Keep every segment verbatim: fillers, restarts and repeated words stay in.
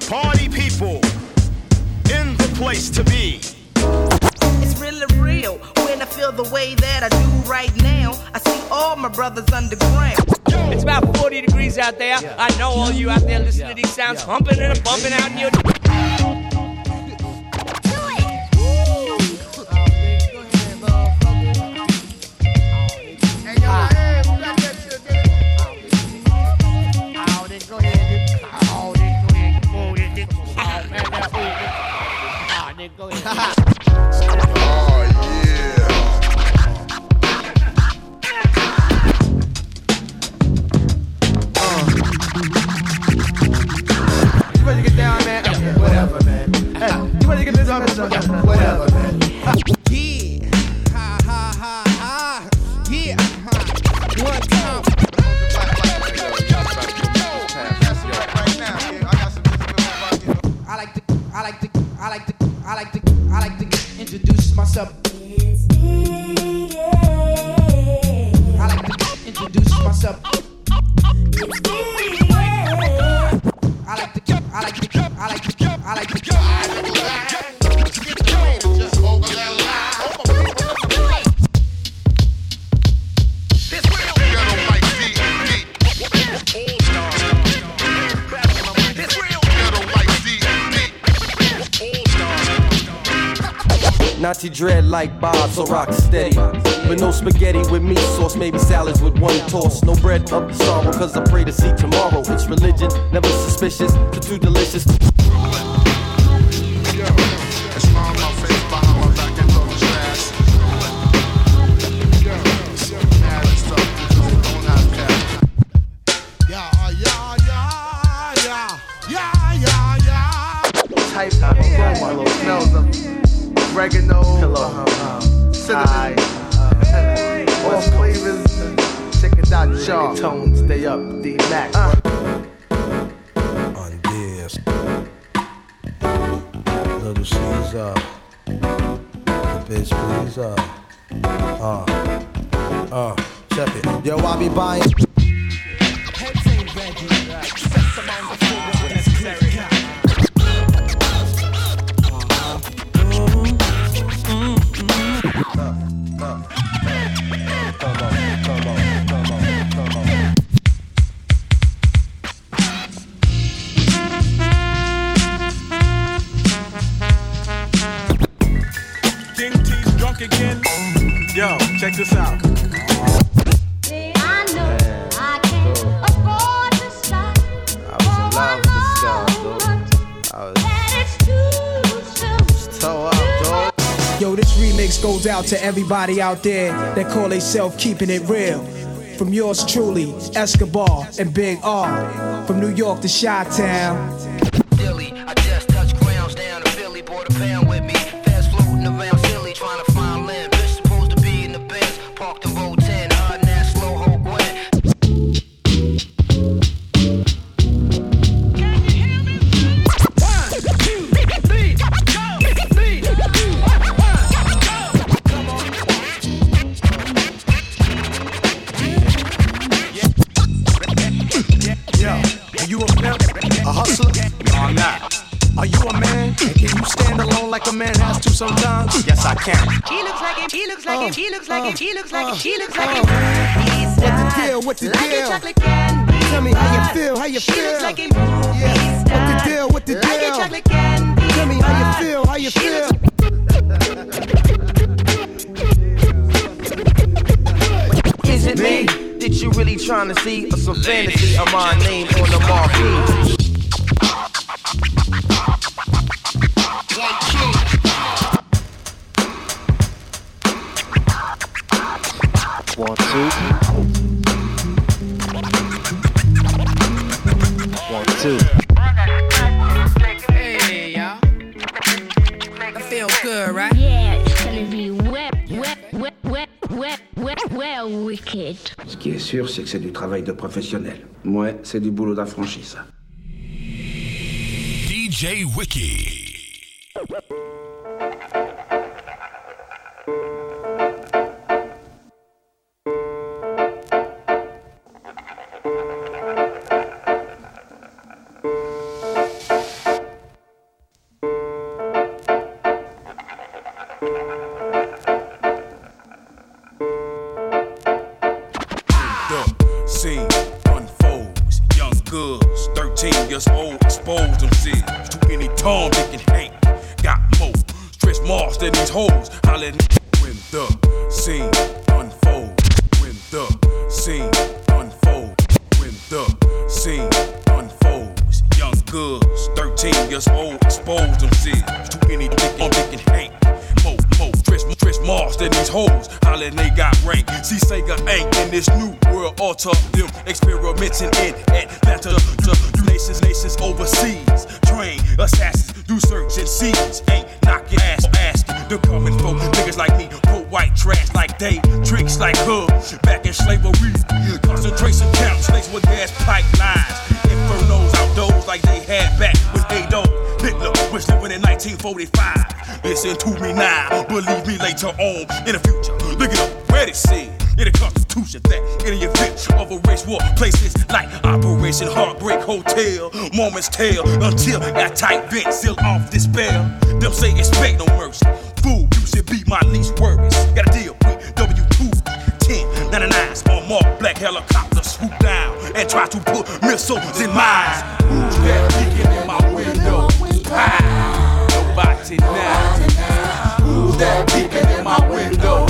Party people in the place to be. It's really real when I feel the way that I do right now. I see all my brothers underground. It's about forty degrees out there. Yeah. I know all you out there listening yeah. to these sounds yeah. humping and bumping out in your... Go ahead. Oh, yeah. Uh. You ready to get down, man? Yeah. Whatever, man. Hey, you ready to get this on? Whatever, man. Yeah. Ha, ha, ha, ha. Yeah. One time. I like to, I like to, I like to, I like to, I like to introduce myself. I like to introduce myself. I like to, I like to, I like to, I like to. Nazi dread like Bob, so rock steady. But no spaghetti with meat sauce, maybe salads with one toss. No bread of the sorrow, cause I pray to see tomorrow. It's religion, never suspicious, too, too delicious. Type of aroma smells of oregano, uh, cinnamon, uh, all flavors. Check it out, y'all. Tones, stay up, D-Mac. Uh. On this, little Caesar, the bitch please, uh, uh, uh, check it. Yo, I be buying. Again. Yo, check this out. I know I can't afford to stop. I was in love with this girl, dude. I was it's too soon. so up, dog. Yo, this remix goes out to everybody out there that call themselves keeping it real. From yours truly, Escobar and Big R. From New York to Chi-Town. Philly, I just touched grounds down in Philly, bought a pound with me. Fast floating around Philly, trying to find land. Bitch supposed to be in the Benz, parked in row ten, hard and that slow ho Gwen. Can you hear me? One, two, three, go, three, two, one, go. Come on. Yo, are you a pimp? A hustler? No, I'm not. Are you a man? And can you stand alone like a man has to sometimes? Yes, I can. He looks like him, he looks like him, he looks like him, he looks like him, he looks like Uh, him. He's What the deal? What the like deal? a chocolate candy. Tell me how you feel, how you She feel. looks like him. Yeah. What the deal? What the Like a deal? chocolate candy. Tell me how you feel, how you She feel. Is it me that you really trying to see? Or some fantasy of my name on the marquee? One, two. One, two. Hey, y'all. I feel good, right? Yeah, it's gonna be wet, wet, wet, wet, wet, wet, well wicked. Ce qui est sûr, c'est que c'est du travail de professionnel. Ouais, c'est du boulot d'affranchi, ça. D J Wiki. thirteen years old, exposed themselves to any Tom, Dick, and Hank. Got more stress marks than these hoes. Hollering when the scene unfolds. When the scene unfolds. When the scene unfolds. Young girls, thirteen years old, exposed themselves to any Dick, Dick, and Hank. Mo, mo, stress, stress marks than these hoes. Hollering they got rank. See Sega ain't in this new world order. Them experimenting in Atlanta. You nations, nations overseas. Train assassins, do search and seize. Ain't knocking ass, asking. They're coming for niggas like me. Put white trash like they, tricks like her. Back in slavery, concentration camps laced with gas pipelines. Infernos outdoors like they had back with Adolf Hitler was living in nineteen forty-five. Listen to me now, believe me later on in the future. Look it up, where it said in the Constitution that in the event of a race war, places like Operation Heartbreak Hotel, moments tell until that tight vent seal off this spell. Them say expect no mercy. Fool, you should be my least worries. Gotta deal with W two ten ninety-nines on marked black helicopters swoop down and try to put missiles in mines. Who's that peeking in my window? Ah, nobody now. Who's that peeking in my window?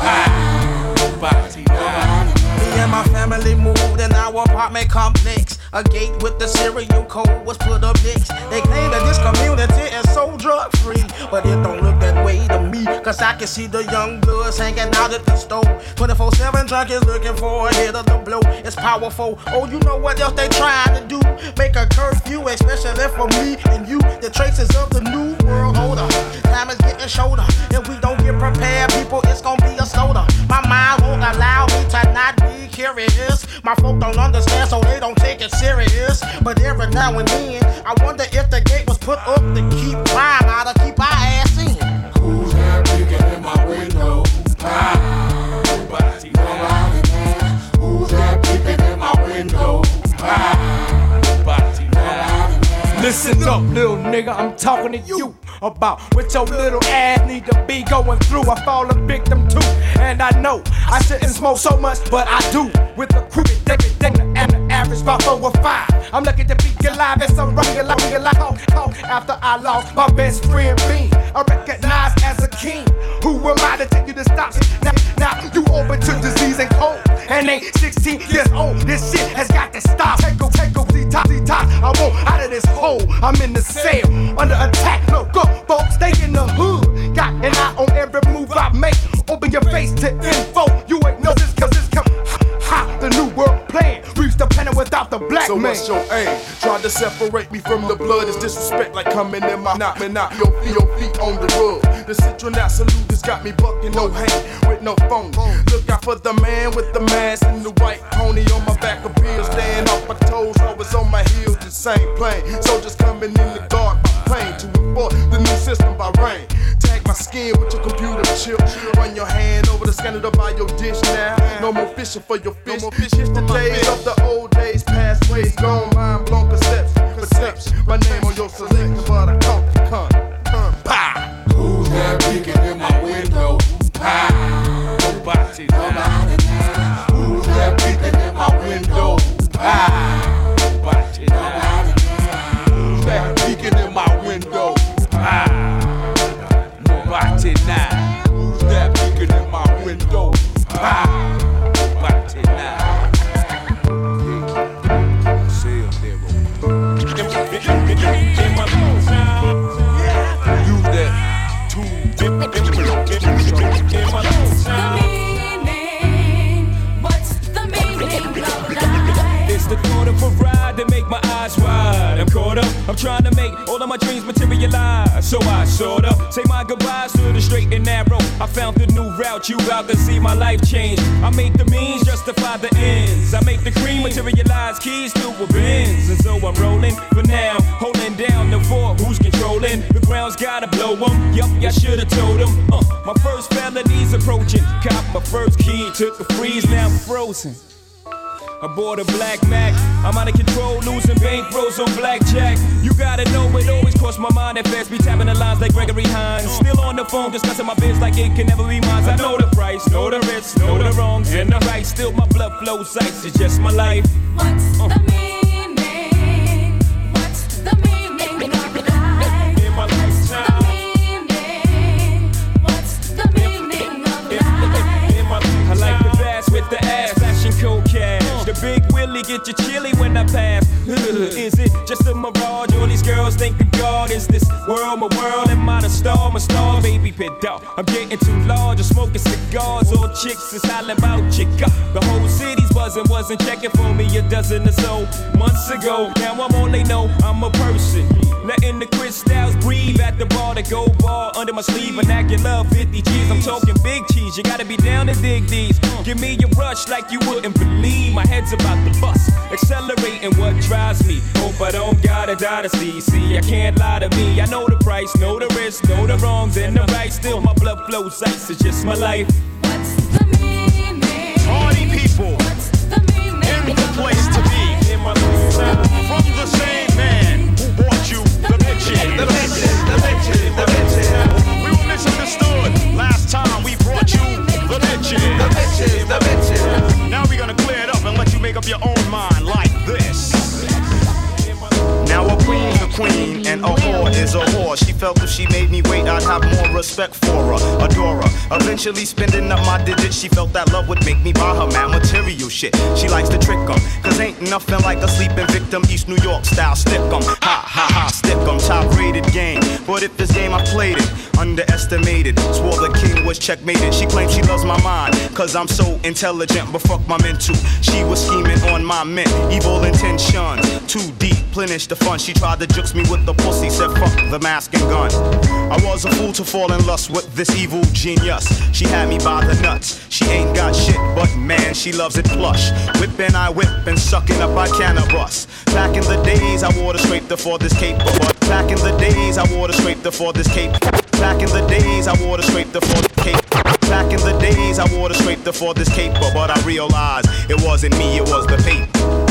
Ah, nobody now. Me and my family moved in our apartment complex. A gate with the serial code was put up next. They claim that this community is so drug free, but it don't look that way to me. Cause I can see the young bloods hanging out at the store. twenty-four seven junkies looking for a hit of the blow. It's powerful. Oh, you know what else they trying to do? Make a curfew, especially for me and you. The traces of the new world order. Time is getting shorter. If we don't get prepared, people, it's gonna be a slaughter. My mind won't allow me to not be curious. My folk don't understand, so they don't take it serious. But every now and then, I wonder if the gate was put up to keep crime out or keep our ass in. Who's that peeking in my window? Ah, nobody now. Who's that peeking in my window? Ah, nobody now. Listen up, little nigga, I'm talking to you about what your little ass need to be going through. I fall a victim too, and I know I shouldn't smoke so much, but I do. With a crooked everything, and the average about four or five. I'm lucky to be alive and so regular, regular. After I lost my best friend, me, I recognize as a king. Who am I to tell you to stop? Now, now you open to disease and cold, and ain't sixteen years old. This shit has got to stop. Take go, take go, detox, detox. I want out of this hole. I'm in the cell, under attack. Look up, folks, stay in the hood. Got an eye on every move I make. Open your face to info. You ain't know this, cause it's come. Ha, the new world plan. Reach the planet without the black so man. So what's your aim? Try to separate me from the blood. It's disrespect like coming in my knock, man, knock your feet, your feet on the rug. The citronat salute has got me bucking, no hang with no phone. Look out for the man with the mask and the white pony on my back of bills. Staying off my toes, always on my heels, the same plane. Soldiers coming in the dark by plane to enforce the new system by rain. Tag my skin with your computer chip. Run your hand over the scanner to buy your dish now. No more fishing for your fish. No more fish. It's the days of the old days, past ways gone. Mind blown perception, perception. My name on your selection, but I can't come, come, pow. Who's that peeking in my window? Pow. Nobody now. Who's that peeking in my window? Pow. Nobody now. Who's that peeking in my window? Pow. Nobody now. Who's that peeking in my window? Pow. Nobody now. It's the thought of a ride that make my eyes wide. I'm caught up, I'm trying to make all of my dreams materialize. So I sorta say my goodbyes to the straight and narrow. I found the new route, you out to see my life change. I make the means justify the ends. I make the cream materialize, keys to a Benz. And so I'm rolling for now, holding down the fort. Who's controlling? The ground's gotta blow them. Yup, I should've told them. Uh, my first felony's approaching. Cop my first key, took a freeze, now I'm frozen. I bought a black Mac, I'm out of control, losing bankrolls on blackjack. You gotta know it always crossed my mind at fast, be tapping the lines like Gregory Hines. Still on the phone, discussing my biz like it can never be mine. I know the price, know the risks, know the wrongs and the rights. Still my blood flows ice, it's just my life. What's uh. the meaning just a mirage. All these girls think of God. Is this world my world? Am I the star? My star, baby, pit dog. I'm getting too large. I'm smoking cigars. All chicks is hollering about chica. The whole city's buzzing. Wasn't checking for me a dozen or so months ago. Now I'm all they know. I'm a person. Letting the crystals breathe at the bar. The gold bar under my sleeve. Vernacular fifty G's. I'm talking big cheese. You gotta be down to dig these. Give me a rush like you wouldn't believe. My head's about to bust. Accelerating what drives me. Hope I don't gotta dynasty. See, I can't lie to me. I know the price, know the risk, know the wrongs and the right. Still my blood flows ice. It's just my life. What's the meaning? Party people. What's the meaning? In the place to be. In my from the same man who brought you the bitches. The bitches, the bitches, the bitches. We were misunderstood. Last time we brought you the bitches. The bitches, the bitches. Now we're gonna clear it up and let you make up your own mind like this. Now a queen's a queen and a whore is a whore. She felt if she made me wait, I'd have more respect for her, adore her. Eventually spending up my digits, she felt that love would make me buy her mad material shit. She likes to trick 'em, cause ain't nothing like a sleeping victim, East New York style stick 'em. Ha ha ha, stick 'em, top rated game. But if this game I played it, underestimated, swore the king was checkmated. She claims she loves my mind, cause I'm so intelligent, but fuck my mental. She was scheming on my mint, evil intentions, too deep, plenish the fun. She tried to jukes me with the pussy, said fuck the mask and gun. I was a fool to fall in lust with this evil genius. She had me by the nuts. She ain't got shit, but man, she loves it plush. Whipping I whip and sucking up I cannabis. Back in the days I wore the scraper for this cape. Back in the days I wore the scraper for this cape. Back in the days I wore the scraper for the cape. Back in the days I wore the scraper for this caper, but I realized it wasn't me, it was the paper.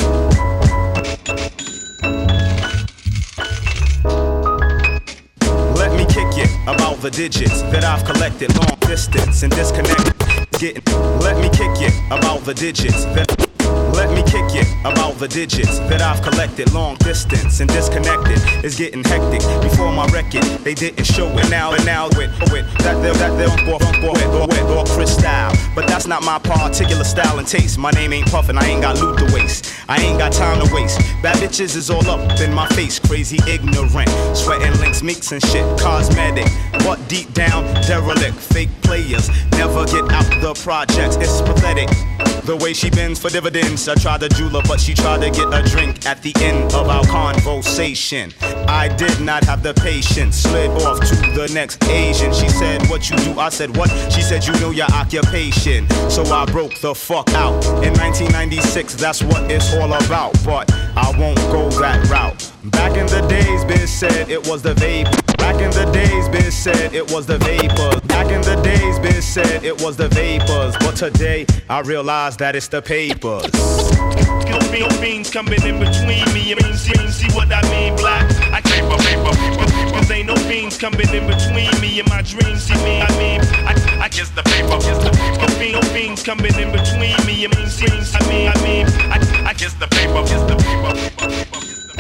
Let me kick it about the digits that I've collected long distance and disconnected. Getting. Let me kick it about the digits that. Let me kick it about the digits that I've collected long distance and disconnected. It's getting hectic. Before my record, they didn't show it. Now and now with with that they're that they're or or wet or crystal. But that's not my particular style and taste. My name ain't Puffin', I ain't got loot to waste. I ain't got time to waste. Bad bitches is all up in my face, crazy ignorant. Sweating links, meeks and shit, cosmetic. But deep down, derelict, fake players never get out the projects. It's pathetic. The way she bends for dividends. I tried to jewel her, but she tried to get a drink at the end of our conversation. I did not have the patience. Slid off to the next Asian. She said, what you do? I said, what? She said, you know your occupation. So I broke the fuck out. In nineteen ninety-six, that's what it's all about. But I won't go that route. Back in the days, Biz said it was the vape. Back in the days, Biz said it was the vapors. Back in the days, Biz said it was the vapors. But today, I realize that it's the papers. No beans coming in between me and see, see what I mean, black. I can't paper, paper, cause ain't no beans coming in between me and my dreams. See me, I mean, I, I guess the paper, guess the paper. No beans coming in between me and my dreams. I mean, I mean, I, I guess the paper, guess the paper.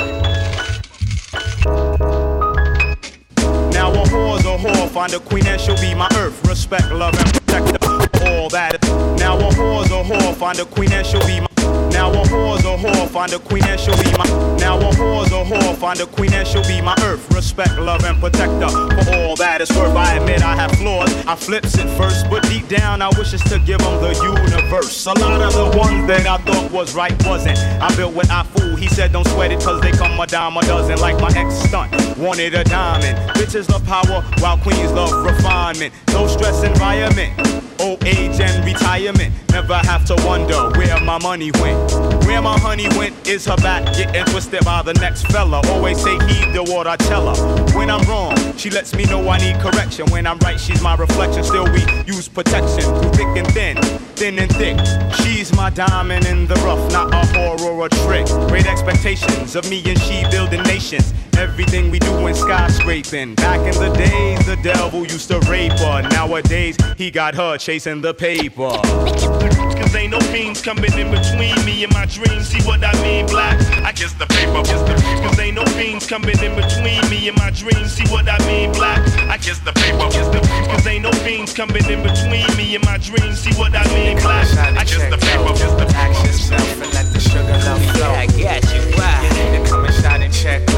Now a whore's a whore, find a queen and she'll be my earth. Respect, love, and protect her. All that. Now a whore's a whore, find a queen and she'll be my. Now a whore's a whore, find a queen and she'll be my. Now a whore's a whore, find a queen and she'll be my earth. Respect, love, and protect her. For all that it's worth, I admit I have flaws. I flips it first, but deep down I wish it's to give them the universe. A lot of the ones that I thought was right wasn't. I built what I fool. He said don't sweat it cause they come a dime a dozen. Like my ex stunt, wanted a diamond. Bitches love power while queens love refinement. No stress environment, old age and retirement. Never have to wonder where my money went. Where my honey went is her back getting twisted by the next fella. Always say heed to what I tell her. When I'm wrong, she lets me know I need correction. When I'm right, she's my reflection. Still we use protection through thick and thin, thin and thick. She's my diamond in the rough, not a whore or a trick. Great expectations of me and she building nations. Everything we do in skyscraping. Back in the days, the devil used to rape her. Nowadays, he got her chasing the paper. Cause ain't no beans coming in between me and my dreams. See what I mean, black? I guess the paper, guess the paper. Cause ain't no beans coming in between me and my dreams. See what I mean, black? I guess the paper, guess the paper. Cause ain't no beans coming in between me and my dreams. See what I mean, black? I guess the paper, guess the paper. Ask yourself and let the sugar love flow. Yeah, I got you. Wow. You need to come and shine and check.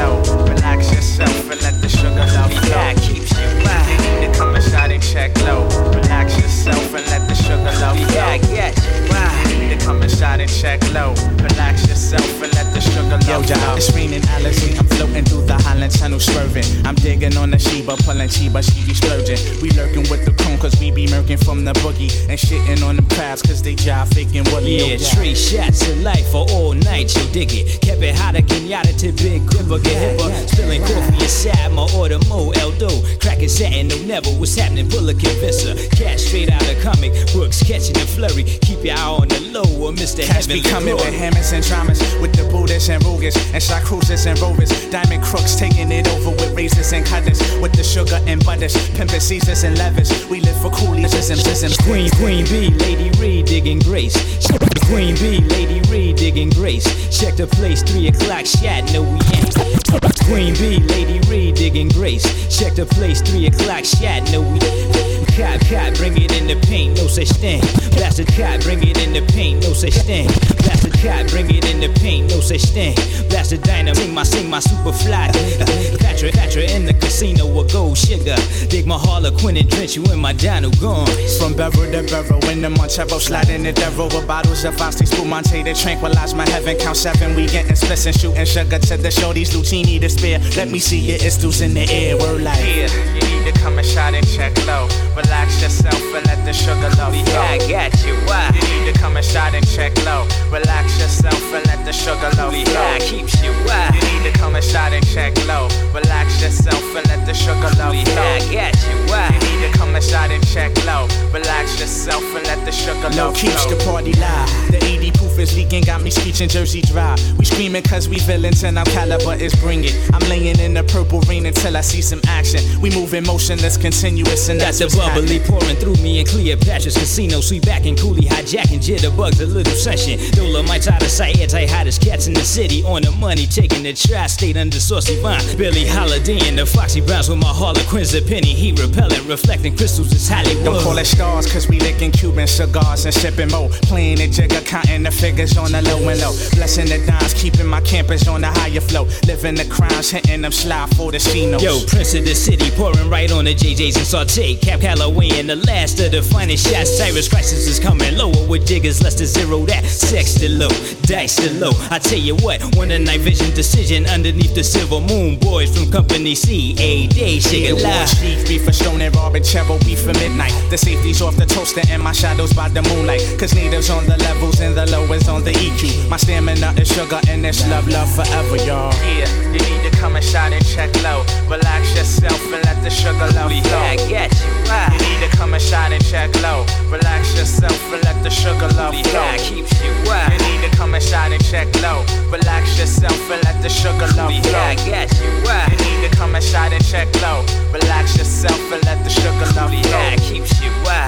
swerving. I'm digging on the Sheba, pulling Sheba, she be splurging. We lurking with the cone cause we be murking from the boogie. And shitting on them crowds cause they jive faking Willie. Yeah, three shots of life for all night, you dig it. Kept it hot again, yada to big gripper, get hipper. Spilling coffee inside my order, Mo Eldo. Cracking satin, no never, what's happening, Bullock convincer. Cash straight out of comic books, catching the flurry. Keep your eye on the low, or Mister Cash be coming with hammers and dramas, with the Buddhists and Rugas, and shot cruisers and rovers. Diamond crooks taking it over with razors and cutters, with the sugar and butters, pimping Caesars and levers. We live for coolies and prisms. Queen, Queen B, Lady Reed digging grace. Queen B, Lady Reed digging grace. Check the place, three o'clock shot, no we ain't. Queen B, Lady Reed digging grace. Check the place, three o'clock shot, no we ain't. Cop, cop, bring it in the paint, no such thing. Blasted cop, bring it in the paint, no such thing. Blasted cop, bring it in the paint, no such thing. Blasted dynamite, sing my, sing my super fly. Patra, Patra in the casino with gold sugar. Dig my Harlequin and drench you in my Dino gone. From Beverly to Beverly, in the Montevo, sliding in the rover. Bottles of Foxy Spumante to tranquilize my heaven. Count seven, we getting splits and shooting sugar to the shorties. Lucini to spare. Let me see your istos in the air. We're like, yeah, you need to come and shot and check low. Relax yourself and let the sugar love flow. Yeah, I got you. Why? You need to come and shot and check low. Relax yourself and let the sugar love flow. Yeah, keeps you. Why? You need to come and shot and check low. Relax yourself and let the sugar love flow. Yeah, I got you. Why? You need to come and shot and check low. Relax yourself and let the sugar love flow. Keeps the party live. The eighty proof is leaking, got me screeching Jersey dry. We screaming cause we villains and our caliber is bring it. I'm laying in the purple rain until I see some action. We moving motionless, continuous, and that's got the bubbly pouring through me in Cleopatra's casino. Sweet back and coolie, hijacking jitterbugs, a little sunshine. Dolomites out of sight, anti-hottest cats in the city. On the money, taking the tri-state under Saucy Vine. Billy Holiday and the Foxy Browns with my Harlequins, a penny heat repellent, reflecting crystals, it's Hollywood. Don't call it stars, cause we licking Cuban cigars and sipping mo. Playing the jigger, counting the figures on the low and low. Blessing the dimes, keeping my campers on the higher flow. Living the crimes, hitting them slide for the Chinos. Yo, Prince of the City, pouring right on the J Js and Saute. Cap Calloway and the last of the finest shots. Cyrus Crisis is coming lower with diggers, less to zero that. Sex to low, dice to low. I tell you what, one a night vision decision underneath the silver moon. Boys from Company C, A day, shake it live. Chief beef for Stone and Robin, Cheryl beef for midnight. The safety's off the toaster and my shadows by the moonlight. Cause natives on the levels and the lowest on the E Q. My stamina is sugar and it's love, love forever, y'all. Yeah, you need to come and shot and check low. Relax yourself and let the sugar love flow. Yeah, I got you. Why? You need to come and shot and check low. Relax yourself and let the sugar love flow. Yeah, keeps you. Why? You need to come and shot and check low. Relax yourself and let the sugar love flow. Yeah, I got you. Why? You need to come and shot and check low. Relax yourself and let the sugar love flow. Yeah, keeps you. Why?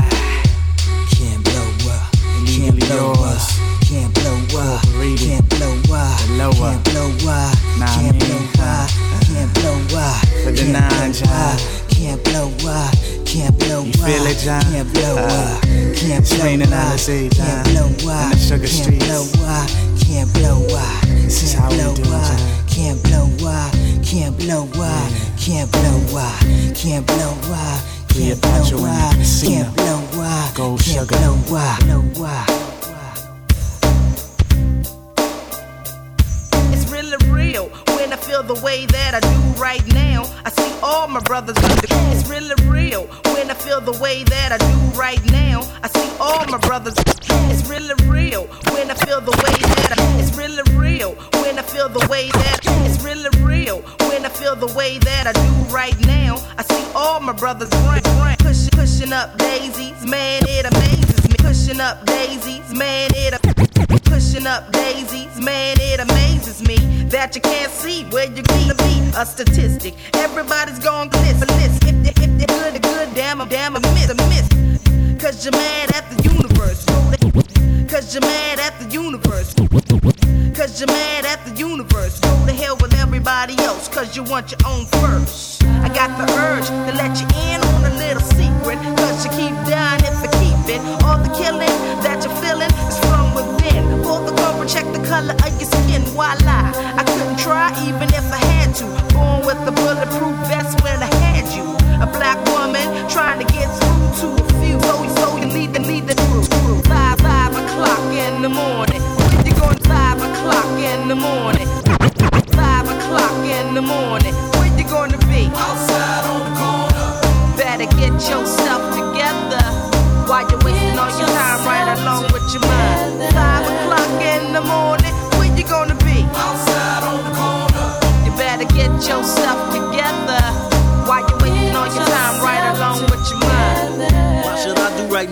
Can't blow up. Can't blow up. Can't blow up. Can't blow up. Can't blow up. Can't blow up. Can't blow up. For the nine, John. Can't blow up. Can't blow up. You feel it, John? Can't blow up. Can't blow up. Can't blow up. In the sugar streets. Can't blow up. Can't blow up. This is how we do it, John. Can't blow up. Can't blow up. Can't blow up. Can't blow up. Can't blow up. Can't blow up. Gold sugar. Can't blow up. Blow up. It's really real when I feel the way that I do right now. I see all my brothers under. It's really real when I feel the way that I do right now. I see all my brothers. It's really real when I feel the way that I. It's really real when I feel the way that. It's really real when I feel the way that I do right now. I see all my brothers run, run, pushing, pushing up daisies, man, it amazes me. Pushing up daisies, man, it. Pushing up daisies, man, it amazes me that you can't see where you're gonna be. A statistic, everybody's gonna glitz. If, if, if they're good, good, damn, I'm damn, I miss, I miss. Cause you're mad at the universe. Cause you're mad at the universe. Cause you're mad at the universe. Go to hell with everybody else, cause you want your own first. I got the urge to let you in on a little secret, cause you keep dying if you keep it. All the killing that you're feeling is from within. Pull the cover, check the color of your skin. Why lie? I couldn't try even if I had to. Born with a bulletproof vest when I had you. A black woman trying to get through to a few. So, so you need to need the crew. Five, five o'clock in the morning. You're going five o'clock in the morning. Five o'clock in the morning. Where you gonna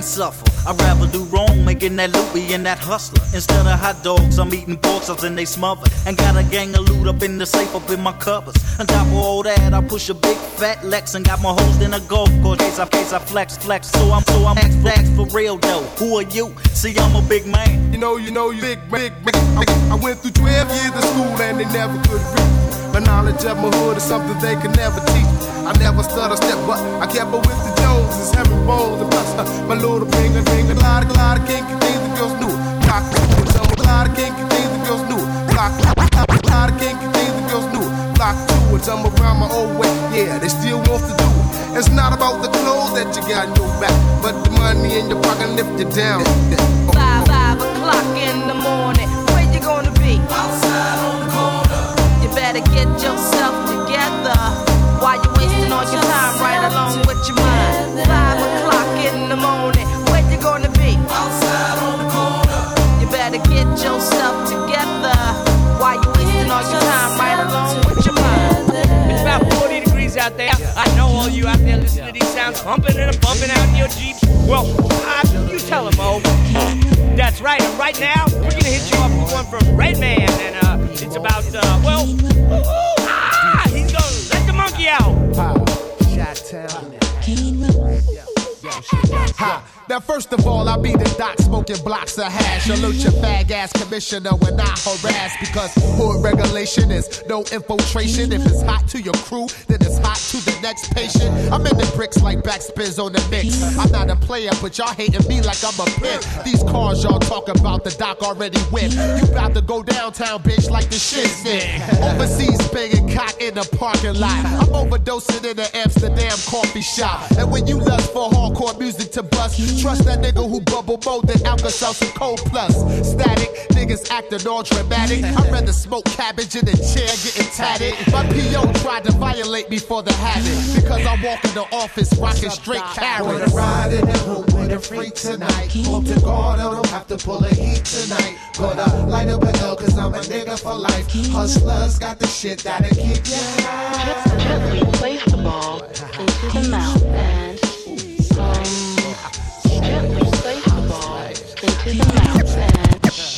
suffer. I'd rather do wrong, making that loopy and that hustler. Instead of hot dogs, I'm eating pork chops and they smothered. And got a gang of loot up in the safe, up in my covers. On top of all that, I push a big fat Lex and got my host in a golf course. Case I, case I flex, flex. So I'm, so I'm ax, flex for real though. Who are you? See, I'm a big man. You know, you know, you big, big, big. I went through twelve years of school and they never could read. My knowledge of my hood is something they can never teach. I never stutter step, but I kept up with the Joneses, having balls and bust. My little finger, finger, a lot of, lot of kinky things the girls knew. Block with some, a lot of kinky things the girls knew. Block, a lot of kinky things the girls knew. Block two and some around my old way, yeah, they still wants to do it. It's not about the clothes that you got in your back, but the money in your pocket lift you down. Five, five o'clock in the morning, where you gonna be? Outside on the corner. You better get yourself together. Why you wasting all your time right along with your mind? Five o'clock in the morning, where you gonna be? Outside on the corner. You better get yourself together. Why you wasting all your time right along with your mind? It's about forty degrees out there. I know all you out there listening to these sounds humping and bumping out in your Jeep. Well, uh, you tell them, Mo. That's right. And right now, we're gonna hit you up with one from Redman, and uh, it's about uh, well, ooh, ooh, ah, he's gonna let the monkey out. Ha. Now first of all, I be the doc smoking blocks of hash. Salute your fag ass commissioner when I harass, because hood regulation is no infiltration. If it's hot to your crew, then it's hot to the next patient. I'm in the bricks like backspins on the mix. I'm not a player, but y'all hating me like I'm a pimp. These cars y'all talk about, the doc already whipped. You about to go downtown, bitch, like the shit sick. Overseas banging cock in the parking lot. I'm overdosing in the Amsterdam coffee shop. And when you lust for hardcore music to bust, trust that nigga who bubble more than Alka-Seltzer Cold Plus. Static, niggas acting all dramatic. I'd rather smoke cabbage in a chair getting tatted. My P O tried to violate me for the habit, because I walk in the office rocking straight carrots. Wanna ride in the hood with a freak tonight. Hope to God I don't have to pull a heat tonight. Gonna light up a L cause I'm a nigga for life. Hustlers got the shit that'll keep you high. Gently place the ball into the mouth and um, gently place the ball into the mouth and um,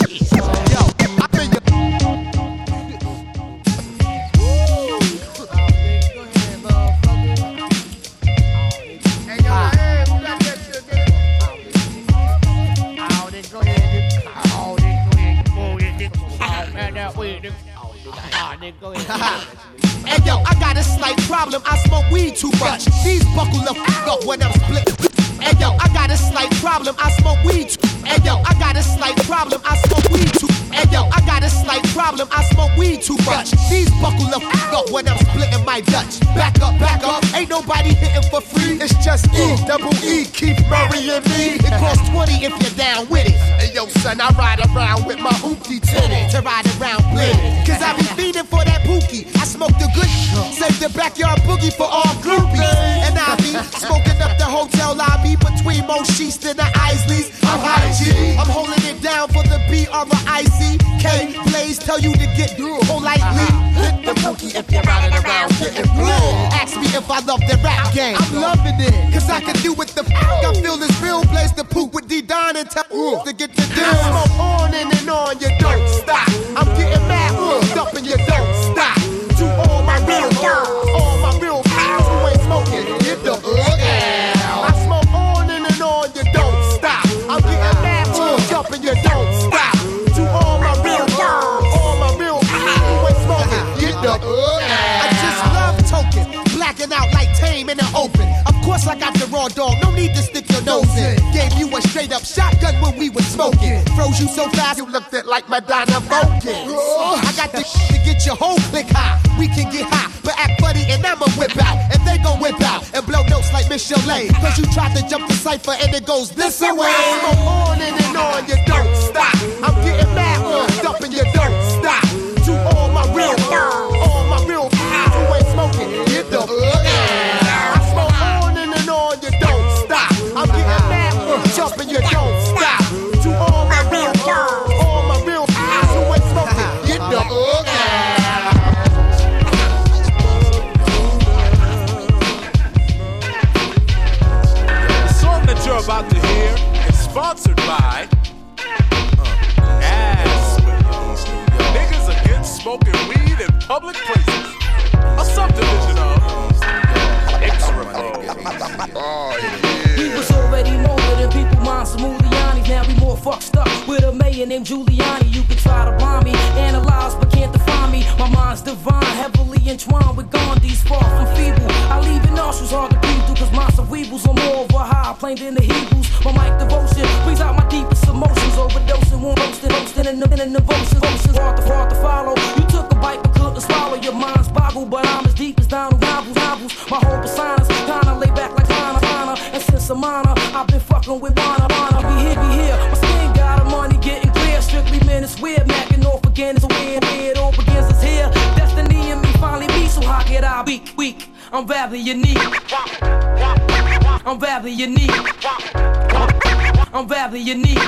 Hey yo, I got a slight problem. I smoke weed too much. These buckle the f up when I'm split. Hey yo, I got a slight problem. I smoke weed too. Hey yo, I got a slight problem. I smoke weed too. Hey yo, I got a slight problem. I smoke weed too much. These buckle the f up when I'm splitting my Dutch. Back up, back up. Ain't nobody hitting for free. It's just E, double E, keep murrying me. It costs twenty if you're down with it. Hey yo, son, I ride around with my hoopty titty to ride around blit. Cause I be feeding for that pookie. I smoke the good, save the backyard boogie for all groupies. And I be smoking up the hotel lobby between Mo Sheets and the Isleys. I'm high G. I'm holding it down for the B R I C K. Blaze tell you to get politely. Hit the pookie if you're riding around getting blue. Ask me if I love the rap game. I'm loving it, cause I can do what the f*** I feel this real. Blaze the poop with D-Don and tell uh, to get the deal. I smoke on and, and on, you don't stop. I'm getting mad, uh, up and you don't stop. To all my real girls, all my real pals who ain't smoking, get the uh, yeah. I smoke on and, and on, you don't stop. I'm getting mad, uh, up and you don't stop. To all my real girls, all my real pals who ain't smoking, get the uh, yeah. I just love token, blacking out like Tame in the open. Of course I got the raw dog, no need to stick your nose in. Gave you a straight up shotgun when we was smoking. Froze you so fast you looked at like Madonna Vulcan. I got the to get your whole click high. We can get high, but act funny and I'ma whip out. And they gon' whip out and blow notes like Miss Chalet. Cause you tried to jump the cypher and it goes this away. Smoke on and, and on, you don't stop. I'm getting mad, uh, up and you don't stop. To all my real girls, all my real pals who ain't smoking, get the uh, yeah. I smoke on and, and on, you don't stop. I'm getting mad, uh, jump and you don't stop. To all my real girls, all my real pals who ain't smoking, get the uh, yeah. The song that you're about to hear We was already molded and people mind some Mulianis. Now we more fucked up with a mayor named Giuliani. You can try to blind me, analyze but can't define me. My mind's divine, heavily entwined with Gandhi's far from feeble. I leave it nostrils hard to breathe through, cause my cerebrals are more of a high plane than the Hebrews. My mic devotion brings out my deepest emotions. Overdosing, won't roasting, hosting in the, in the devotions. Emotions hard to, hard to follow. You took a bite but couldn't swallow. Your mind's boggled, but I'm as deep as Donald Novels. Novels. My whole persona's kinda laid back like Lana, Lana. And since I'm honor, I've been fucking with Lana, Lana. We here, we here. My skin got a money getting clear. Strictly men, it's weird. Macking off again, it's weird. Weird, all begins is here. Destiny and me finally meet, so how could I be weak? I'm rather unique. I'm rather unique. I'm rather unique.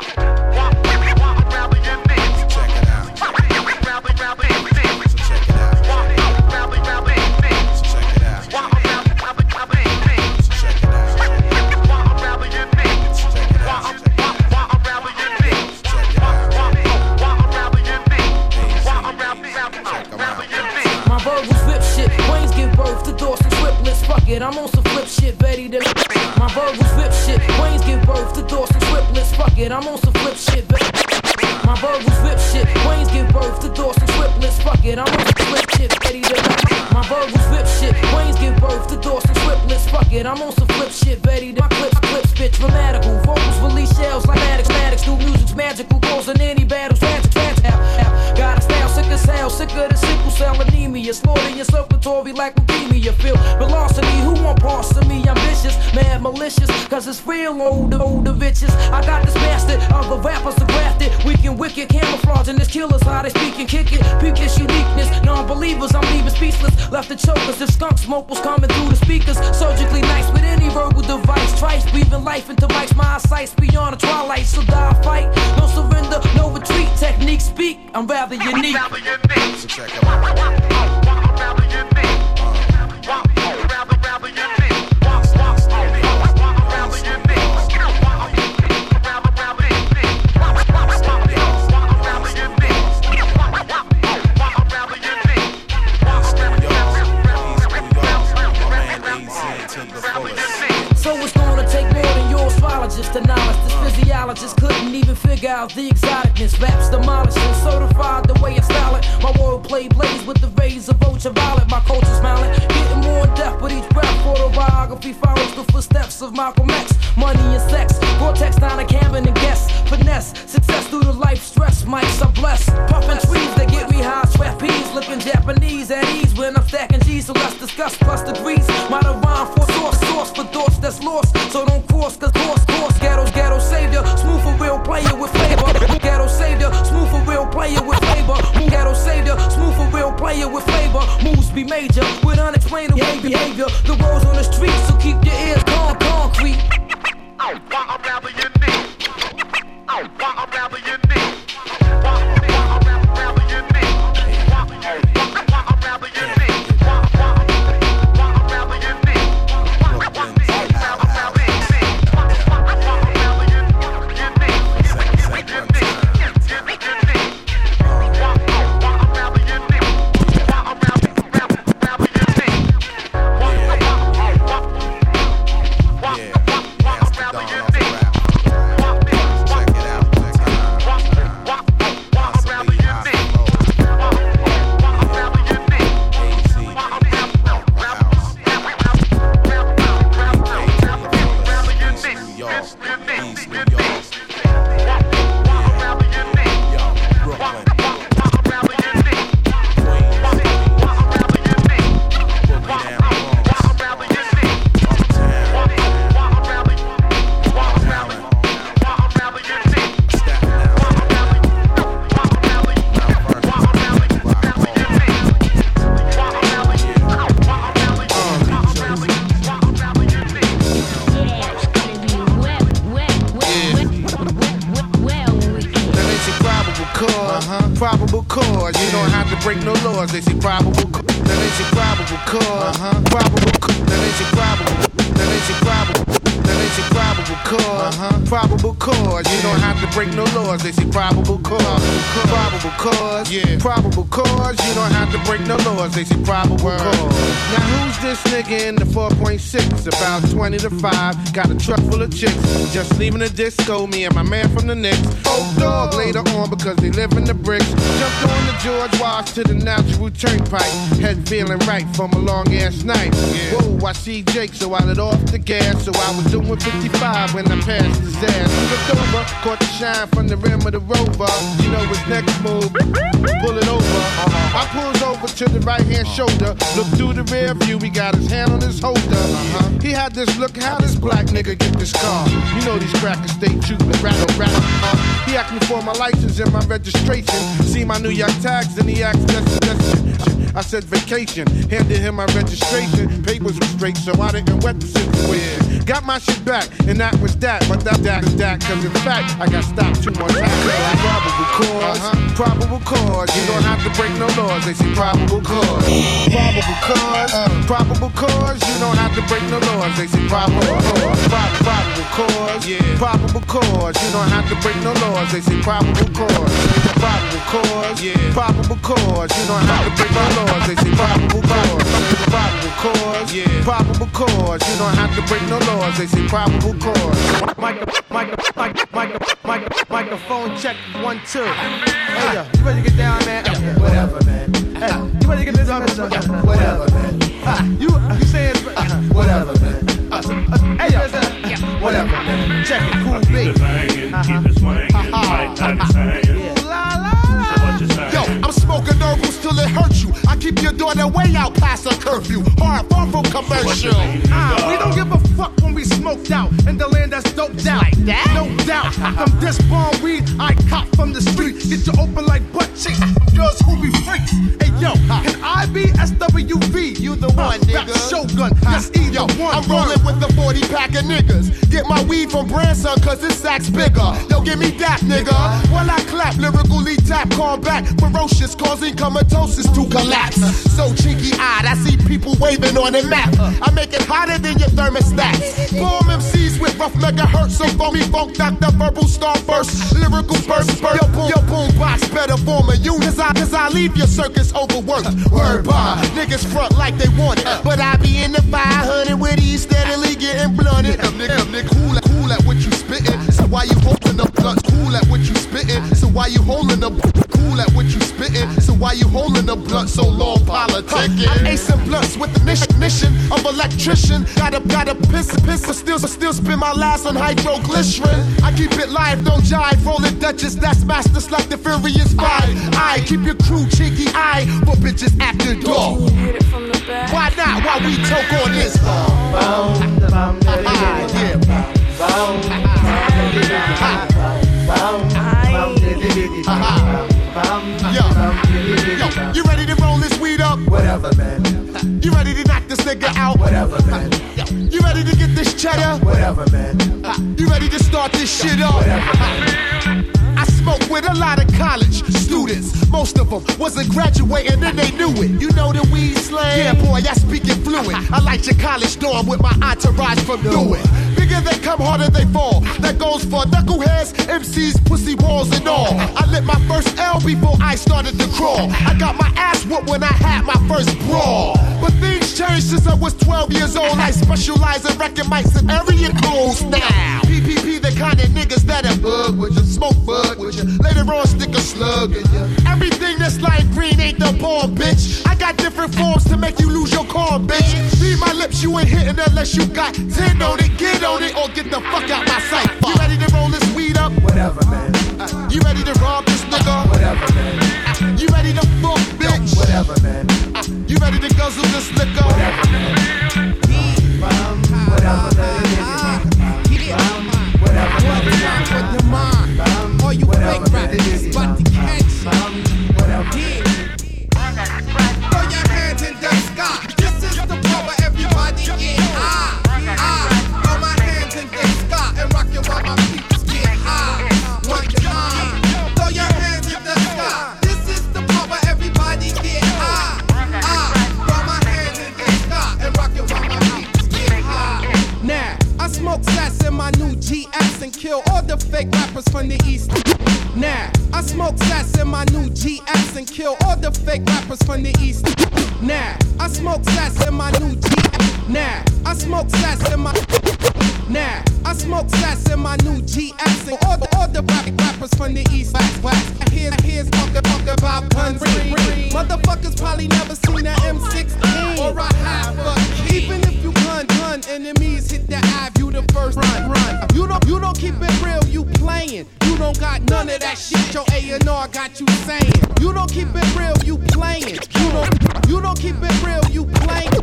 My verbals rip shit, brains give birth to doors and triplets. Fuck it, I'm on some flip shit, Betty the. My verbals rip shit, brains give birth to doors and triplets. Fuck it, I'm on some flip shit, Betty. My verbals rip shit, brains give birth to doors and triplets. Fuck it, I'm on some flip shit, Betty the. My verbals rip shit, brains give birth to doors and triplets. Fuck it, I'm on some flip shit, Betty the. My clips, clips, spit dramatical. Vocals release shells like addicts, addicts. Do music's magical, causing any battles, tragic, tragic. Got a style sick as hell, sicker than sickle cell anemia. Slaughtering your circulatory like leukemia. Feel velocity, who want parts of me? Ambitious, mad, malicious, cause it's real older, older bitches. I got this bastard, other rappers are grafted. Weak and wicked, camouflaging this killers, how they speak and kick it. Peep this uniqueness, non-believers, I'm leaving speechless. Left the chokers, the skunk smoke was coming through the speakers. Surgically nice with any verbal device. Trice, breathing life into mics, my eyesight's beyond the twilight. So die, fight, no surrender, no retreat. Technique speak, I'm rather unique. So check it out. So it's gonna take more than your astrologist to knowledge. This physiologist couldn't even figure out the exoticness. Raps demolishing, certified the way I style it. My wordplay blaze with the rays of ultraviolet. My culture smiling, getting more in depth with each breath. Autobiography follows the footsteps of Malcolm X. Money and sex, vortex down a cabin and guests. Finesse, success through the life stress. Mics are blessed. Puffin' trees that get me high. Trapeze, looking Japanese at ease when I'm stacking G's. So let's discuss plus degrees. Might have rhyme for source, source for thoughts that's lost. So don't cross, cause course, course. Ghetto's ghetto savior, smooth for real player with flavor. Ghetto savior, smooth for real player with flavor. Ghetto savior, smooth for real player with flavor. Moves be major with unexplainable behavior. The world's on the street, so keep your ears on concrete. I'm rather unique. I'm rather unique. Probable cause, you don't have to break no laws. They say probable cause. Now they say probable cause. Uh-huh. Probable cause. Now they say probable. Now they say probable. Now they say probable cause. cause. Uh-huh. Probable cause. You don't have to break no laws. They say probable cause. Probable cause. Yeah. Probable cause. You don't have to break no laws. They say probable cause. Now who's this nigga in the four point six? About twenty to five. Got a truck full of chicks. Just leaving the disco. Me and my man from the Knicks. Old dog later on because they live in the bricks. Jumped on the George Wash to the natural turnpike. Head feeling right from a long ass night. Yeah. Whoa, I see Jake, so I let off the gas. So I was doing fifty-five when I passed his ass. He looked over, caught the shine from the rim of the Rover. You know his next move, pull it over. I pulls over to the right hand shoulder. Look through the rear view, he got his hand on his holder. Uh-huh. He had this look, how this black nigga get this car? You know these crackers stay trooping, rattle, rattle. Uh, he asked me for my license and my registration. See my New York tags and he asked destination. I said vacation, handed him my registration. Papers were straight, so I didn't wet the situation. Got my shit back, and that was that. But that, that is that, cause in fact, I got stopped two more times. Probable cause, uh-huh. Probable cause. You don't have to break no laws, they say probable cause. Probable cause, uh, probable cause. You don't have to break no laws, they say probable cause. Prob- probable cause, yeah. Probable cause. You don't have to break no laws, they say probable cause. Probable cause, yeah. Probable cause. You don't have to break no laws, they say probable cause. Probable cause, yeah. Probable cause. You don't have to break no laws, they say probable cause. Micro, micro, micro, micro, micro, microphone check one two. Hey yo, you ready to get down, man? Yeah, whatever, man. Hey, you ready to get this on? Whatever, man. Uh, you you saying uh, whatever, man. Uh, uh, hey yo, uh, whatever, man. Check it, cool beat. Keep it swinging, like that yeah. La la. Yo, I'm smoking herbals till it hurts you. I keep your daughter way out past her curfew. Hard, far from commercial. Uh, we don't give a fuck when we smoked out in the land that's doped out. Like that? No doubt. From this bomb weed, I cop from the street. Get you open like butt cheeks. Girls who be freaks. Hey yo, can I be S W V? You the one, uh, nigga. Shogun, yes, either one. I'm rolling with the forty pack of niggas. Get my weed from Branson, cause this sack's bigger. Yo, give me that, nigga. While I clap, lyrically tap, combat, ferocious, causing comatosis to collapse. So cheeky-eyed, I see people waving on the map. I make it hotter than your thermostats. Bomb M Cs with rough megahertz, so phony funk, Doctor Verbal Star Burst. Lyrical burst, burst. Yo, boom, yo, boom box, better form a unit. Cause I, cause I leave your circus overworked. Word bar, niggas front like they want it. But I be in the five hundred with these steadily getting blunted. Nigga, nigga, cool at, cool at what you spittin'. So why you holding up blunts? Cool at what you spittin'. So why you holding up? Cool at what you spittin'. So why you holding a blunt so long politicking? I'm acing blunts with the mission of electrician. Gotta, gotta piss, piss, but still, still spin my last on hydroglycerin. I keep it live, don't jive. Rolling Duchess, that's masters like the Furious Five. I keep your crew cheeky eye for bitches after dark. Why not? Why we choke on this? Yo, yo, you ready to roll this weed up? Whatever, man. You ready to knock this nigga out? Whatever, man. You ready to get this cheddar? Whatever, man. You ready to start this shit up? Whatever, man. I smoke with a lot of college students. Most of them wasn't graduating and they knew it. You know the weed slang? Yeah, boy, I speak it fluent. I like your college dorm with my entourage from do it. Bigger they come, harder they fall. That goes for knuckleheads, M Cs, pussy balls and all. I lit my first L before I started to crawl. I got my ass whooped when I had my first brawl. But things changed since I was twelve years old. I specialize in wrecking mics and area codes now. P P P, the kind of niggas that'll bug with you, smoke bug with you. Later on, stick a slug in you. Everything that's like green ain't the bomb, bitch. I got different forms to make you lose your calm, bitch. Read my lips, you ain't hitting unless you got ten on it. Get on it or get the fuck out my sight. You ready to roll this weed up? Whatever, man. Uh, you ready to rob this nigga? Whatever, man. Uh, you ready to fuck, bitch? Whatever, man. Uh, you ready to guzzle this liquor? Whatever, man. Whatever, man. Whatever, man. With your mind. All you fake rappers about to catch some. Whatever. Throw your hands in the sky. This is the power, everybody get high. I throw my hands in the sky and rock it while my peeps get high. One time. Throw your hands in the sky. This is the power, everybody get high. I throw my hands in the sky and rock it while my ass and kill all the fake rappers from the East. Now, I smoke sass in my new G S and kill all the fake rappers from the East. Now, I smoke sass in my new G S. Now, I smoke sass in my. Now, I smoke sass in my new G S and all the, all the rap rappers from the East. Wax, wax. Here's, here's talk, talk about guns. Ring, ring. Motherfuckers probably never seen an M sixteen or a half a key. Even if you gun, gun, enemies hit the ave, you the first run, run. You don't, you don't keep it real, you playing. You don't got none of that shit your A and R got you saying. You don't keep it real, you playing. You don't, you don't keep it real, you playing.